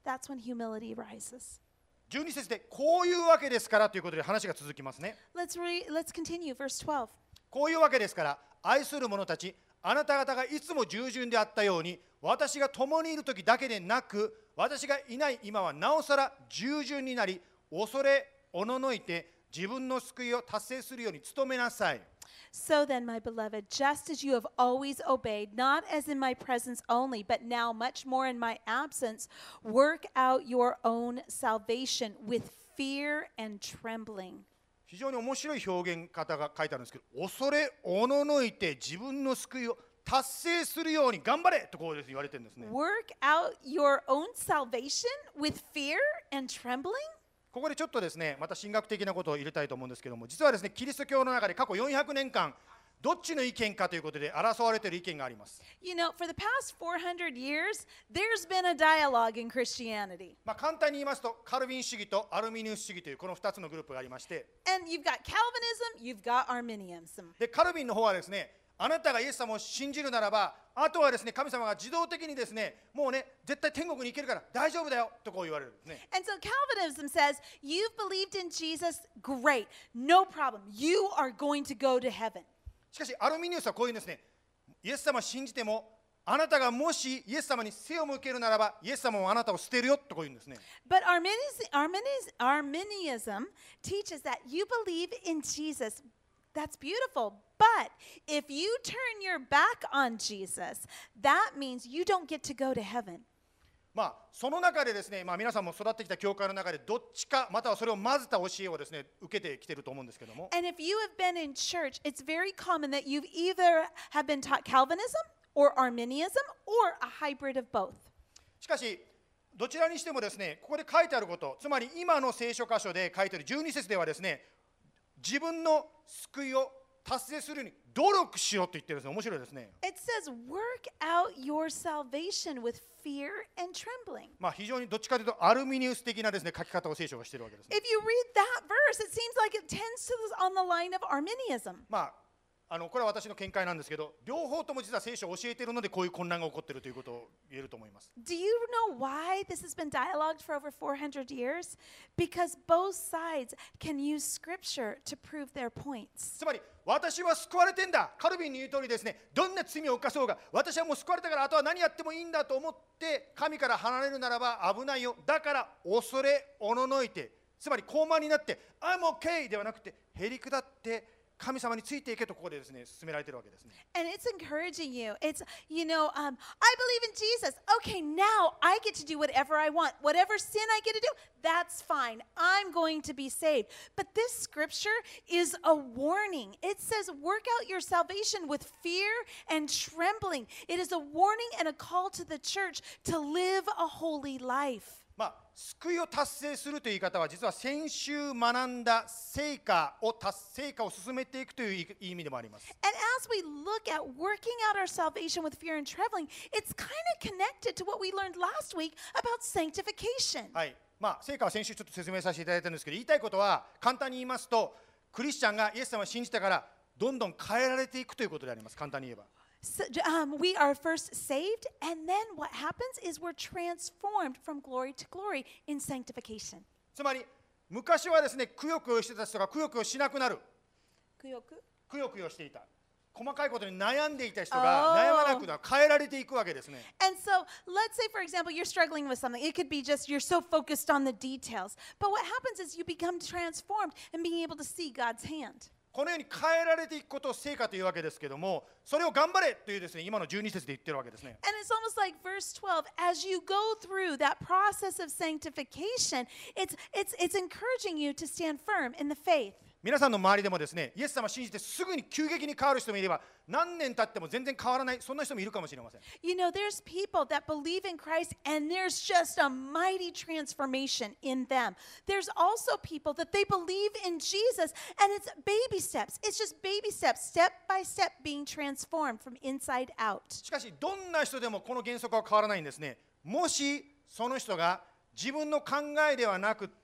that's when humility rises. じゅうに節でこういうわけですからということで話が続きますね。 Let's re- let's continue verse twelve. こういうわけですから愛する者たち、あなた方がいつも従順であったように、私が共にいる時だけでなく、私がいない今はなおさら従順になり、恐れおののいて自分の救いを達成するように努めなさい。 So then, my beloved, just as you have always obeyed, not as in my presence only, but now much more in my absence, work out your own salvation with fear and trembling. 非常に面白い表現方が書いてあるんですけど、恐れおののいて自分の救いを達成するように頑張れとこうです言われてるんですね。 Work out your own salvation with fear and trembling? ここでちょっとですね、また神学的なことを入れたいと思うんですけども、実はですね、キリスト教の中で過去よんひゃくねんかん、どっちの意見かということで争われている意見があります。 You know, for the past four hundred years, there's been a dialogue in Christianity. まあ簡単に言いますと、カルビン主義とアルミニウス主義というこのふたつのグループがありまして、 And you've got Calvinism, you've got Arminianism. でカルビンの方はですね、あなたがイエス様を信じるならば、あとはですね、神様が自動的にですね、もうね、絶対天国に行けるから大丈夫だよとこう言われるんですね。 And so Calvinism says, you've believed in Jesus, great, no problem. You are going to go to heaven. しかしアルミニウスはこういうんですね、イエス様を信じても、あなたがもしイエス様に背を向けるならば、イエス様もあなたを捨てるよとこう言うんですね。 But Arminius, Arminius, Arminianism teaches that you believe in Jesus. That's beautiful. But if you turn your back on Jesus, that means you don't get to go to heaven. まあその中でですね、まあ皆さんも育ってきた教会の中でどっちかまたはそれを混ぜた教えをですね受けてきてると思うんですけども、 And if you have been in church, it's very common that you've either have been taught Calvinism or Arminianism or a hybrid of both. しかしどちらにしてもですね、ここで書いてあること、つまり今の聖書箇所で書いてあるじゅうに節ではですね、自分の救いを達成するように努力しようと言ってるんですね。面白いですね。 It says, work out your salvation with fear and trembling. まあ非常にどっちかというとアルミニウス的なですね書き方を聖書がしているわけですね。 If you read that verse, it seems like it tends to the, on the line of Arminianism. まああのこれは私の見解なんですけど、両方とも実は聖書を教えているのでこういう混乱が起こっているということを言えると思います。 Do you know why this has been dialogued for over four hundred years? Because both sides can use scripture to prove their points. つまり私は救われてんだ、カルビンに言う通りですね、どんな罪を犯そうが私はもう救われたからあとは何やってもいいんだと思って神から離れるならば危ないよ、だから恐れおののいて、つまり高慢になって I'm okay ではなくてへりくだって神様についていけとここでですね進められているわけですね。 And it's encouraging you. It's, you know, um, I believe in Jesus. Okay, now I get to do whatever I want. Whatever sin I get to do, that's fine. I'm going to be saved. But this scripture is a warning. It says, work out your salvation with fear and trembling. It is a warning and a call to the church to live a holy life. まあ、救いを達成するという言い方は実は先週学んだ成果を達成果を進めていくという意味でもあります。 And as we look at working out our salvation with fear and trembling, it's kind of connected to what we learned last week about sanctification. はい、まあ成果は先週ちょっと説明させていただいたんですけど、言いたいことは簡単に言いますと、クリスチャンがイエス様を信じてからどんどん変えられていくということであります。簡単に言えば。 So, um, we are first saved, and then what happens is we're transformed from glory to glory in sanctification. つまり昔はですね、くよくよしてた人がくよくよしなくなる。くよくよしていた。細かいことに悩んでいた人が Oh. 悩まなくなる、変えられていくわけですね。 And so, let's say, for example, you're struggling with something. It could be just you're so focused on the details. But what happens is you become transformed and being able to see God's hand. このように変えられていくことを成果というわけですけども、それを頑張れというですね、今のじゅうに節で言ってるわけですね。 And it's almost like verse twelve. As you go through that process of sanctification, it's, it's, it's encouraging you to stand firm in the faith. 皆さんの周りでもですね、イエス様を信じてすぐに急激に変わる人もいれば、何年経っても全然変わらない、そんな人もいるかもしれません。 You know, there's people that believe in Christ and there's just a mighty transformation in them. There's also people that they believe in Jesus and it's baby steps. It's just baby steps, step by step being transformed from inside out. しかし、どんな人でもこの原則は変わらないんですね。もしその人が自分の考えではなくって、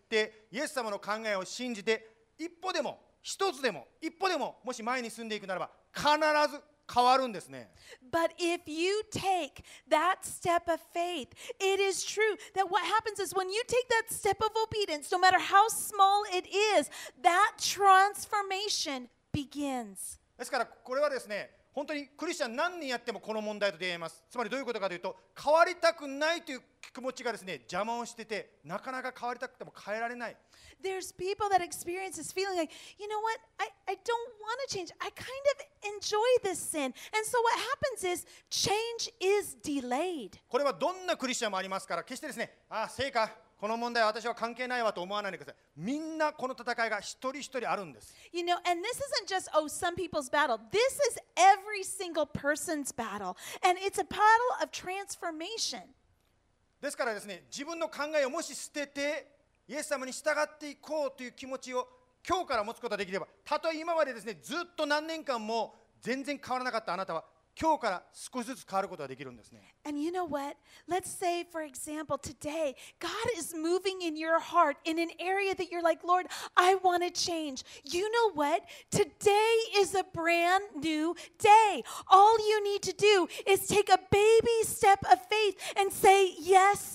イエス様の考えを信じて、一歩でも一つでも一歩でももし前に進んでいくならば必ず変わるんですね。 But if you take that step of faith, it is true that what happens is when you take that step of obedience, no matter how small it is, that transformation begins. ですからこれはですね、本当にクリスチャン何年やってもこの問題と出会います。つまりどういうことかというと、変わりたくないという気持ちがですね、邪魔をしてて、なかなか変わりたくても変えられない。 There's people that experience this feeling like, you know what, I, I don't want to change. I kind of enjoy this sin. And so what happens is change is delayed. これはどんなクリスチャンもありますから、決してですね、ああ、成果、この問題は私は関係ないわと思わないでください。みんなこの戦いが一人一人あるんです。 You know, and this isn't just, oh, some people's battle. This is every single person's battle. And it's a battle of transformation. ですからですね、自分の考えをもし捨てて、イエス様に従っていこうという気持ちを今日から持つことができれば、たとえ今までですね、ずっと何年間も全然変わらなかったあなたは、今日から少しずつ変わることができるんですね。 And you know what? Let's say, for example, today, God is moving in your heart in an area that you're like, Lord, I want to change. You know what? Today is a brand new day. All you need to do is take a baby step of faith and say, Yes,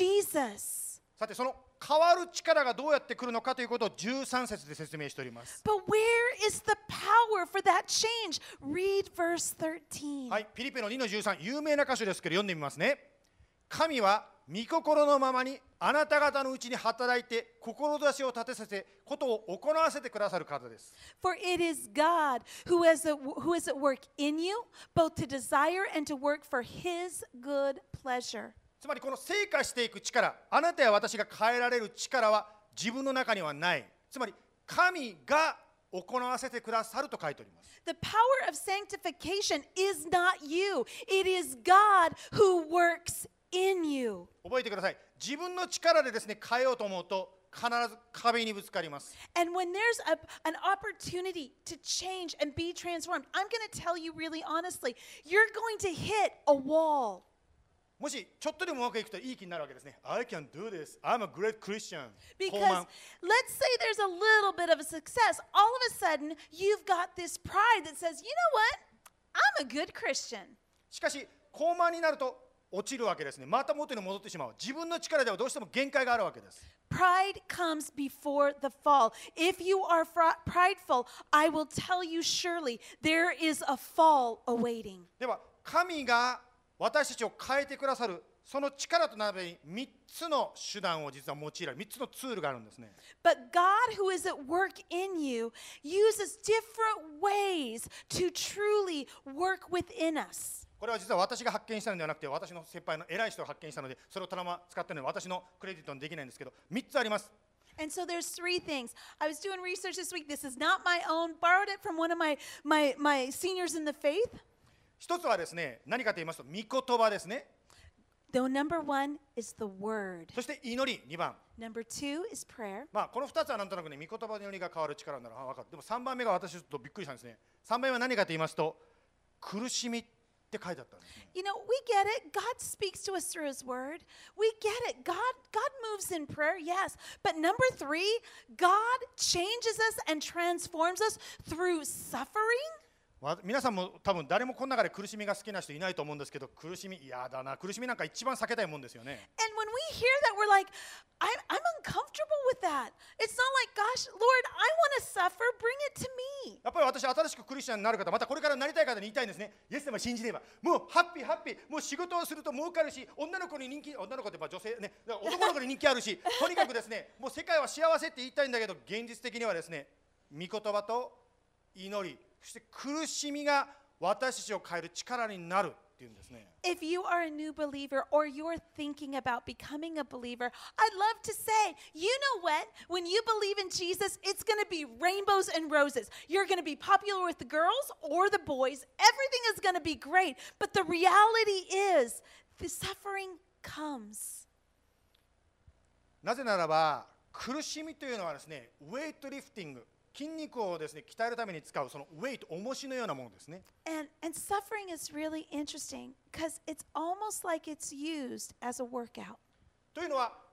Jesus. さて、その変わる力がどうやって来るのかということをじゅうさん節で説明しております。 But where is the power for that change? Read verse thirteen. はい、ピリピのにのじゅうさん、有名な箇所ですけど読んでみますね。神は御心のままにあなた方のうちに働いて志を立てさせ、ことを行わせてくださる方です。 For it is God who is, a, who is at work in you, both to desire and to work for His good pleasure. つまりこの成果していく力、あなたや私が変えられる力は自分の中にはない。つまり神が行わせてくださると書いております。 The power of sanctification is not you. It is God who works in you. 覚えてください。自分の力でですね、変えようと思うと必ず壁にぶつかります。 And when there's a, an opportunity to change and be transformed, I'm going to tell you really honestly, you're going to hit a wall. もしちょっとでもうまくいくといい気になるわけですね。I can do this. I'm a great Christian. Because 高慢 let's say there's a little bit of a success. All of a sudden, you've got this pride that says, you know what? I'm a good Christian. しかし高慢になると落ちるわけですね。また元に戻ってしまう。自分の力ではどうしても限界があるわけです。 Pride comes before the fall. If you are fr- prideful, I will tell you surely there is a fall awaiting. では神が私たちを変えてくださるその力となるべにみっつの手段を実は用いられるみっつのツールがあるんですね。 But God who is at work in you uses different ways to truly work within us. これは実は私が発見したのではなくて、私の先輩の偉い人が発見したので、それをたまたま使っているので私のクレジットにできないんですけど、みっつあります。 And so there's three things. I was doing research this week. This is not my own. Borrowed it from one of my, my, my seniors in the faith. 一つはですね、何かと言いますと、御言葉ですね。 The number one is the word. そして祈り、にばん。 Number two is prayer. まあ、このふたつはなんとなくね、御言葉の祈りが変わる力なら分かる。でもさんばんめが私ちょっとびっくりしたんですね。さんばんめは何かと言いますと、苦しみって書いてあったんですね。 You know, we get it. God speaks to us through His Word. We get it. God, God moves in prayer, yes. But number three, God changes us and transforms us through suffering. わ皆さんも多分誰もこの中で苦しみが好きな人いないと思うんですけど、苦しみ嫌だな、苦しみなんか一番避けたいもんですよね。 And when we hear that, we're like, I'm, I'm uncomfortable with that. It's not like, gosh, Lord, I want to suffer. Bring it to me. やっぱり私、新しくクリスチャンになる方、またこれからなりたい方に言いたいんですね。イエス様信じれば、もうハッピーハッピー、もう仕事をすると儲かるし、女の子に人気、女の子ってまあ女性ね、男の子に人気あるし、とにかくですね、もう世界は幸せって言いたいんだけど、現実的にはですね、御言葉と祈り、そして苦しみが私たちを変える力になるっていうんですね。 If you are a new believer or you're thinking about becoming a believer, I'd love to say, you know what? When you believe in Jesus, it's going to be rainbows and roses. You're going to be popular with the girls or the boys. Everything is going to be great. But the reality is, the suffering comes. なぜならば、苦しみというのはですね、ウェイトリフティング、筋肉をですね、鍛えるために使うそのウェイト、重しのようなものですね。 And, and suffering is really interesting because it's almost like it's used as a workout. というのは、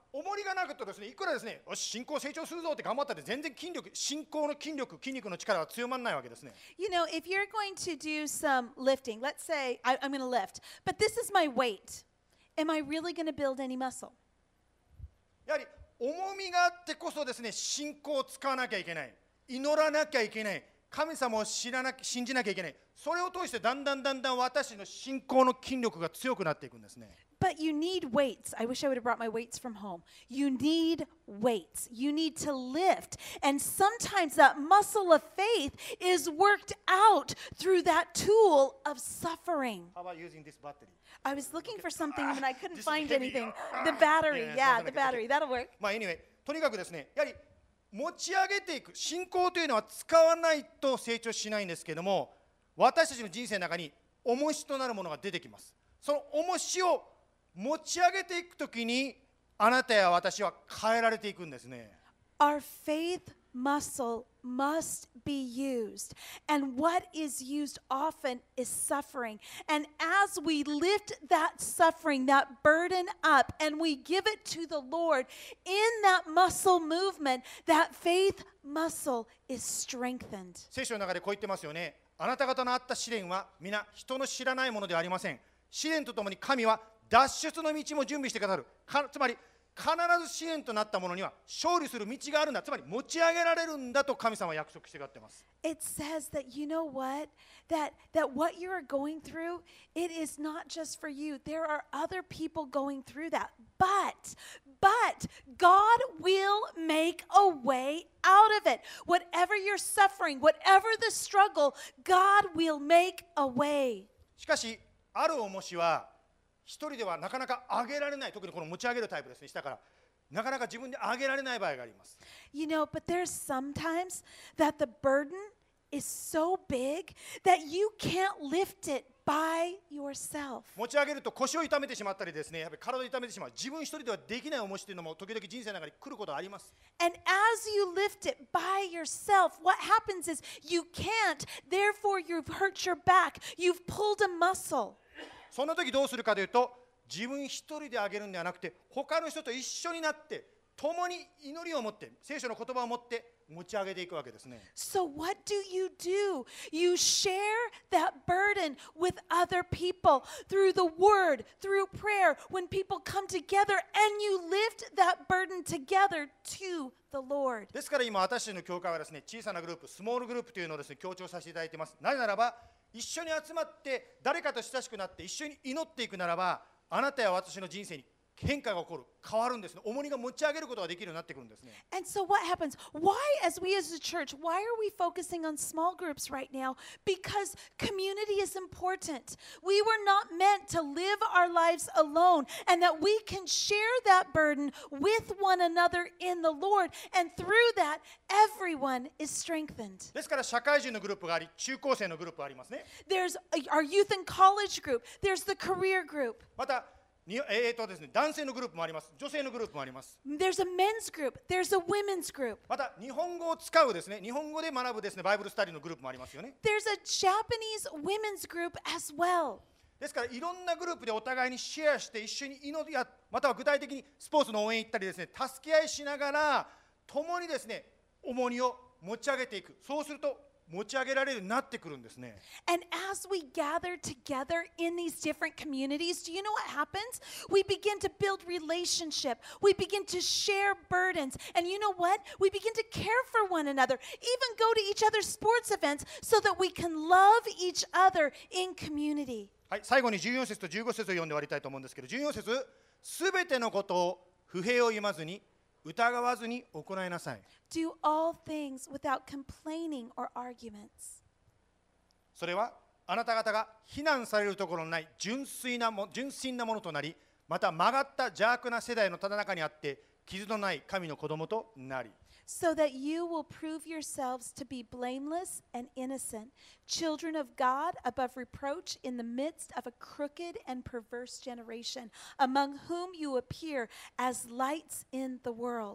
重りがなくとですね、いくらですね、よし信仰成長するぞって頑張ったって全然筋力、信仰の筋力、筋肉の力は強まらないわけですね。 You know, if you're going to do some lifting, let's say I, I'm going to lift, but this is my weight. Am I really going to build any muscle? やはり重みがあってこそですね、信仰を使わなきゃいけない、祈らなきゃいけない、神様を知らな信じなきゃいけない。それを通してだんだんだんだん私の信仰の筋力が強くなっていくんですね。 But you need weights. I wish I would have brought my weights from home. You need weights. You need to lift. And sometimes that muscle of faith is worked out through that tool of suffering. How about using this battery? I was looking for something and I couldn't This is find heavy. anything. The battery, Yeah, yeah, something the like that. battery. That'll work. まあ anyway、とにかくですね、やはり持ち上げていく信仰というのは使わないと成長しないんですけども、私たちの人生の中に重しとなるものが出てきます。その重しを持ち上げていくときに、あなたや私は変えられていくんですね。 Our faith muscle must be used. And what is used often is suffering. And as we lift that suffering, that burden up, and we give it to the Lord, in that muscle movement, that faith muscle is strengthened. 聖書の中でこう言ってますよね。あなた方のあった試練は皆人の知らないものではありません。試練とともに神は脱出の道も準備してくださる。かつまり必ず試練となったものには勝利する道があるんだ。つまり持ち上げられるんだと神様は約束してくださっています。 It says that, you know what? That, that what you're going through, it is not just for you. There are other people going through that. But, but God will make a way out of it. Whatever you're suffering, whatever the struggle, God will make a way. しかしある重しは一人ではなかなか上げられない。特にこの持ち上げるタイプですね。下からなかなか自分で上げられない場合があります。 You know, but there's sometimes that the burden is so big that you can't lift it by yourself. 持ち上げると腰を痛めてしまったりですね、やっぱり体を痛めてしまう。自分一人ではできない重しというのも時々人生の中に来ることがあります。 And as you lift it by yourself, what happens is you can't, therefore you've hurt your back, you've pulled a muscle. そんな時どうするかというと、自分一人で上げるんではなくて、他の人と一緒になって共に祈りを持って、聖書の言葉を持って持ち上げていくわけですね。 So what do you do? You share that burden with other people through the word, through prayer. When people come together and you lift that burden together to the Lord. ですから今私たちの教会はですね、小さなグループ、スモールグループというのをですね、強調させていただいています。なぜならば、一緒に集まって誰かと親しくなって一緒に祈っていくならば、あなたや私の人生に変化が起こる、変わるんですね。重荷が持ち上げることができるようになってくるんですね。 And so what happens? Why, as we as a church, why are we focusing on small groups right now? Because community is important. We were not meant to live our lives alone, and that we can share that burden with one another in the Lord, and through that, everyone is strengthened. ですから社会人のグループがあり、中高生のグループがありますね。 There's our youth and college group. There's the career group. またにえーとですね、男性のグループもあります。女性のグループもあります。 There's a men's group. There's a women's group. また日本語を使うですね、日本語で学ぶですね、バイブルスタディのグループもありますよね。 There's a Japanese women's group as well. ですからいろんなグループでお互いにシェアして一緒に祈りや、または具体的にスポーツの応援行ったりですね、助け合いしながら共にですね、重荷を持ち上げていく。そうすると持ち上げられるようになってくるんですね。 And as we gather together in these different communities, do you know what happens? We begin to build relationship. We begin to share burdens. And you know what? We begin to care for one another, even go to each other's sports events so that we can love each other in community. はい、最後にじゅうよん節とじゅうご節を読んで終わりたいと思うんですけど、じゅうよん節、すべてのことを不平を言わずに疑わずに行いなさい。 Do all things without complaining or arguments. それはあなた方が非難されるところのない純粋なも純真なものとなり、また曲がった邪悪な世代のただ中にあって傷のない神の子供となり。 So that you will prove yourselves to be blameless and innocent, children of God above reproach in the midst of a crooked and perverse generation, among whom you appear as lights in the world.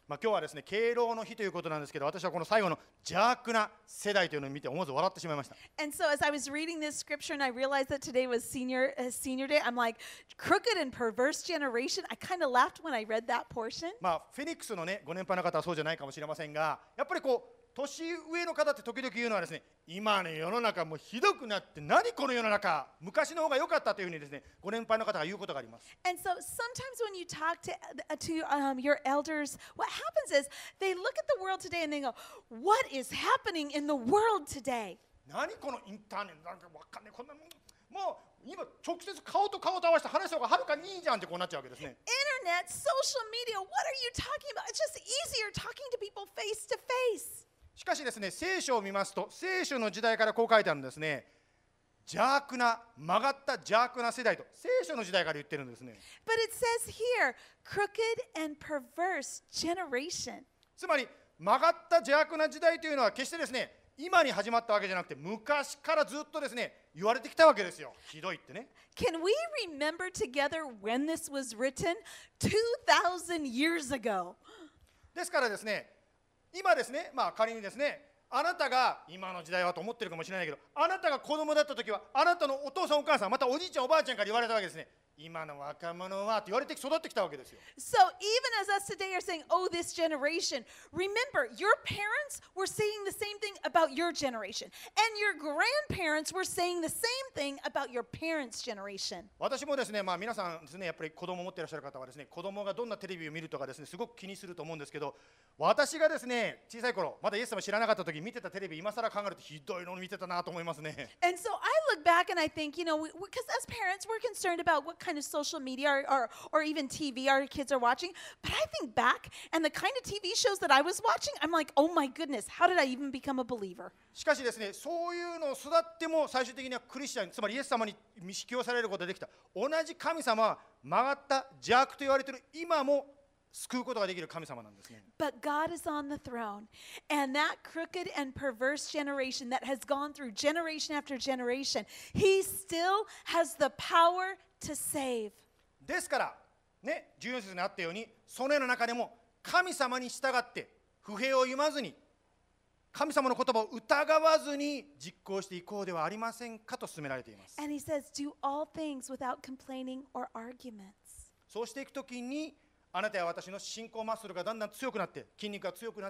まあ、今日はですね、敬老の日ということなんですけど、私はこの最後の邪悪な世代というのを見て思わず笑ってしまいました。 And so as I was reading this scripture and I realized that today was senior uh, senior day, I'm like, crooked and perverse generation. I kind of laughed when I read that portion. まあ、フェニックスのね、ご年配の方はそうじゃないかもしれませんが、やっぱりこう、年上の方って時々言うのはですね、今の世の中もうひどくなって、何この世の中、昔の方が良かったというふうにですね、ご年配の方が言うことがあります。 And so sometimes when you talk to uh, to um, your elders, what happens is they look at the world today and they go, "What is happening in the world today?" 何このインターネットなんかわかんない、こんなもんもう今直接顔と顔と合わせて話した方がはるかにいいじゃんってこうなっちゃうわけですね。 Internet, social media, what are you talking about? It's just easier talking to people face to face. しかしですね、聖書を見ますと、聖書の時代からこう書いてあるんですね。邪悪な、曲がった邪悪な世代と、聖書の時代から言ってるんですね。 But it says here, crooked and perverse generation. つまり、曲がった邪悪な時代というのは決してですね、今に始まったわけじゃなくて、昔からずっとですね、言われてきたわけですよ。ひどいってね。 Can we remember together when this was written? two thousand years ago. ですからですね、今ですね、まあ仮にですね、あなたが今の時代はと思ってるかもしれないけど、あなたが子供だった時は、あなたのお父さんお母さん、またおじいちゃんおばあちゃんから言われたわけですね。今の若者はって言われて育ってきたわけですよ。 So even as us today are saying, oh, this generation, remember, your parents were saying the same thing about your generation. And your grandparents were saying the same thing about your parents' generation. 私もですね、まあ皆さんですね、やっぱり子供を持っていらっしゃる方はですね、子供がどんなテレビを見るとかですね、すごく気にすると思うんですけど、私がですね、小さい頃、まだイエス様知らなかった時見てたテレビ、今更考えるとひどいのを見てたなと思いますね。 And so I look back and I think, you know, because as parents, we're concerned about what kind of social media or, or, or even T V our kids are watching. But I think back and the kind of T V shows that I was watching, I'm like, oh my goodness, how did I even become a believer? しかしですね、そういうのを育っても最終的にはクリスチャン、つまりイエス様に引き寄せられることができた。同じ神様は曲がった邪悪と言われている今も救うことができる神様なんですね。 But God is on the throne, and that crooked and perverse generation that has gone through generation after generation, He still has the power to save. ですから、ね、じゅうよん節にあったように、そのような中でも神様に従って不平を言わずに、神様の言葉を疑わずに実行していこうではありませんかと勧められています。 And He says, do all things without complaining or arguments. そうしていくときに、あなたや私の信仰マッスルがだんだん強くなって、筋肉が強くなって、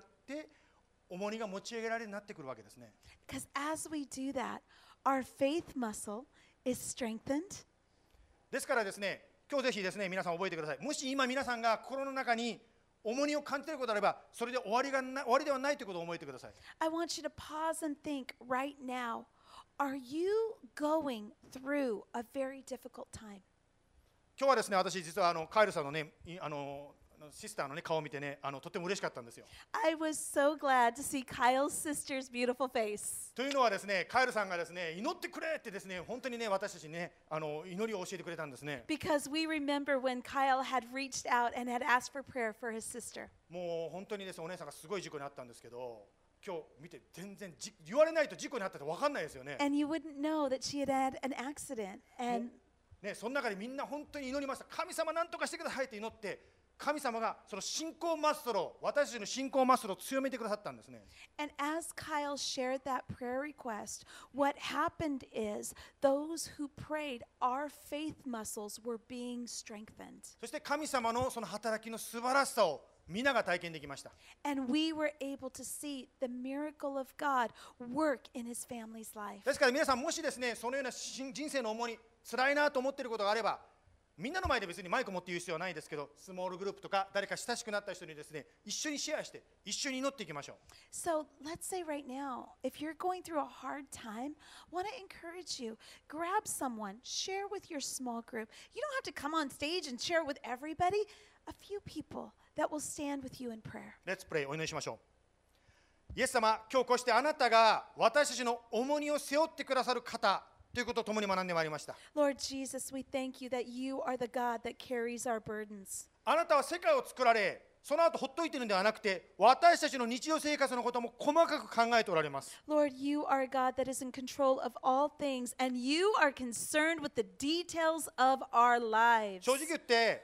重荷が持ち上げられるようになってくるわけですね。 Because as we do that, our faith muscle is strengthened. ですからですね、今日ぜひですね、皆さん覚えてください。もし今皆さんが心の中に重荷を感じていることであれば、それで終わりがな終わりではないということを覚えてください。 I want you to pause and think right now, are you going through a very difficult time? 今日はですね、私実はあのカイルさんのね、いあのシスターの、ね、顔を見てね、あのとても嬉しかったんですよ。 I was so glad to see Kyle's sister's beautiful face. というのはですね、カイルさんがですね、祈ってくれってですね、本当にね、私たちにね、あの祈りを教えてくれたんですね。 Because we remember when Kyle had reached out and had asked for prayer for his sister. もう本当にですね、お姉さんがすごい事故にあったんですけど、今日見て全然じ言われないと事故にあったって分かんないですよね。 And you wouldn't know that she had had an accident. And ね、その中でみんな本当に祈りました。神様何とかしてくださいって祈って、神様がその信仰マッスルを、私たちの信仰マッスルを強めてくださったんですね。 And as Kyle shared that prayer request, what happened is those who prayed, our faith muscles were being strengthened. そして神様のその働きの素晴らしさを皆が体験できました。 And we were able to see the miracle of God work in his family's life. ですから皆さん、もしですね、そのような人生の重荷、辛いなと思っていることがあれば、みんなの前で別にマイク持って言う必要はないですけど、スモールグループとか誰か親しくなった人にですね、一緒にシェアして一緒に祈っていきましょう。 So let's say right now, if you're going through a hard time, I want to encourage you, grab someone, share with your small group. You don't have to come on stage and share it with everybody. A few people that will stand with you in prayer. Let's pray. お祈りしましょう。イエス様、今日こうしてあなたが私たちの重荷を背負ってくださる方ということを共に学んでまいりました。 Lord Jesus, we thank you that you are the God that carries our burdens. あなたは世界を作られ、その後ほっといているのではなくて、私たちの日常生活のことも細かく考えておられます。 Lord, you are a God that is in control of all things, and you are concerned with the details of our lives. 正直言って、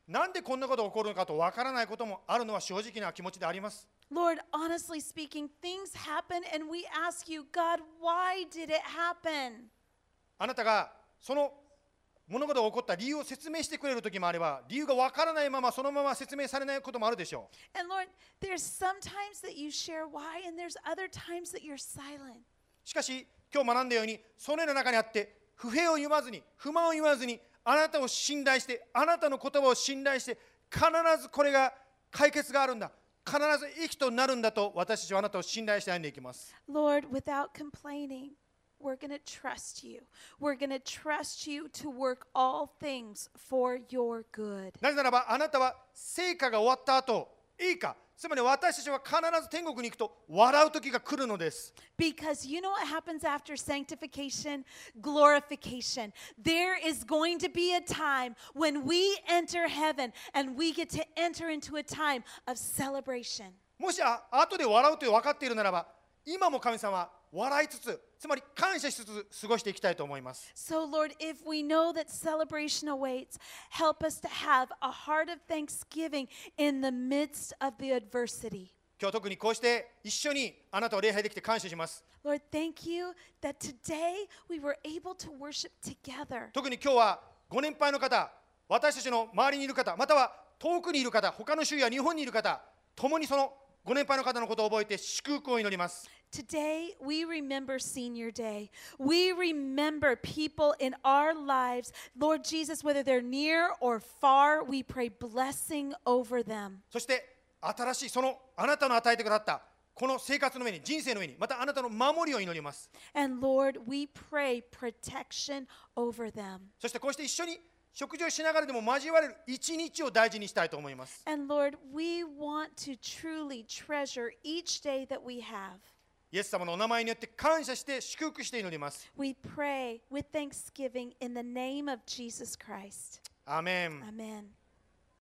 なんでこんなことが起こるのかとわからないこともあるのは正直な気持ちであります。 Lord, honestly speaking, things happen and we ask you, God, why did it happen? あなたがその物事が起こった理由を説明してくれる時もあれば、理由がわからないままそのまま説明されないこともあるでしょう。 And Lord, there's sometimes that you share why, and there's other times that you're silent. しかし今日学んだように、そのような中にあって不平を言わずに不満を言わずに、あなたを信頼して、あなたの言葉を信頼して、必ずこれが解決があるんだ、必ず益となるんだと私たちはあなたを信頼して歩んでいきます。 Lord, without complaining, we're going to trust you. We're going to trust you to work all things for your good. なぜならばあなたは成果が終わった後、いいか、つまり私たちは必ず天国に行くと笑う時が来るのです。 Because you know what happens after sanctification? Glorification. There is going to be a time when we enter heaven and we get to enter into a time of celebration. もしあ後で笑うと分かっているならば、今も神様は笑いつつ、つまり感謝しつつ過ごしていきたいと思います。 So, Lord, if we know that celebration awaits, help us to have a heart of thanksgiving in the midst of the adversity. 今日特にこうして一緒にあなたを礼拝できて感謝します。 Lord, thank you that today we were able to worship together. 特に今日はご年配の方、私たちの周りにいる方、または遠くにいる方、他の州や日本にいる方、共にそのご年配の方のことを覚えて祝福を祈ります。 Today, we remember Senior Day. We remember people in our lives. Lord Jesus, whether they're near or far, we pray blessing over them. そして新しいそのあなたの与えてくださったこの生活の上に、人生の上に、またあなたの守りを祈ります。 And Lord, we pray protection over them. そしてこうして一緒に食事をしながらでも交われる一日を大事にしたいと思います。 And Lord, we want to truly treasure each day that we have. イエス様のお名前によって感謝して祝福して祈ります。 We pray with thanksgiving in the name of Jesus Christ. アーメン。 Amen.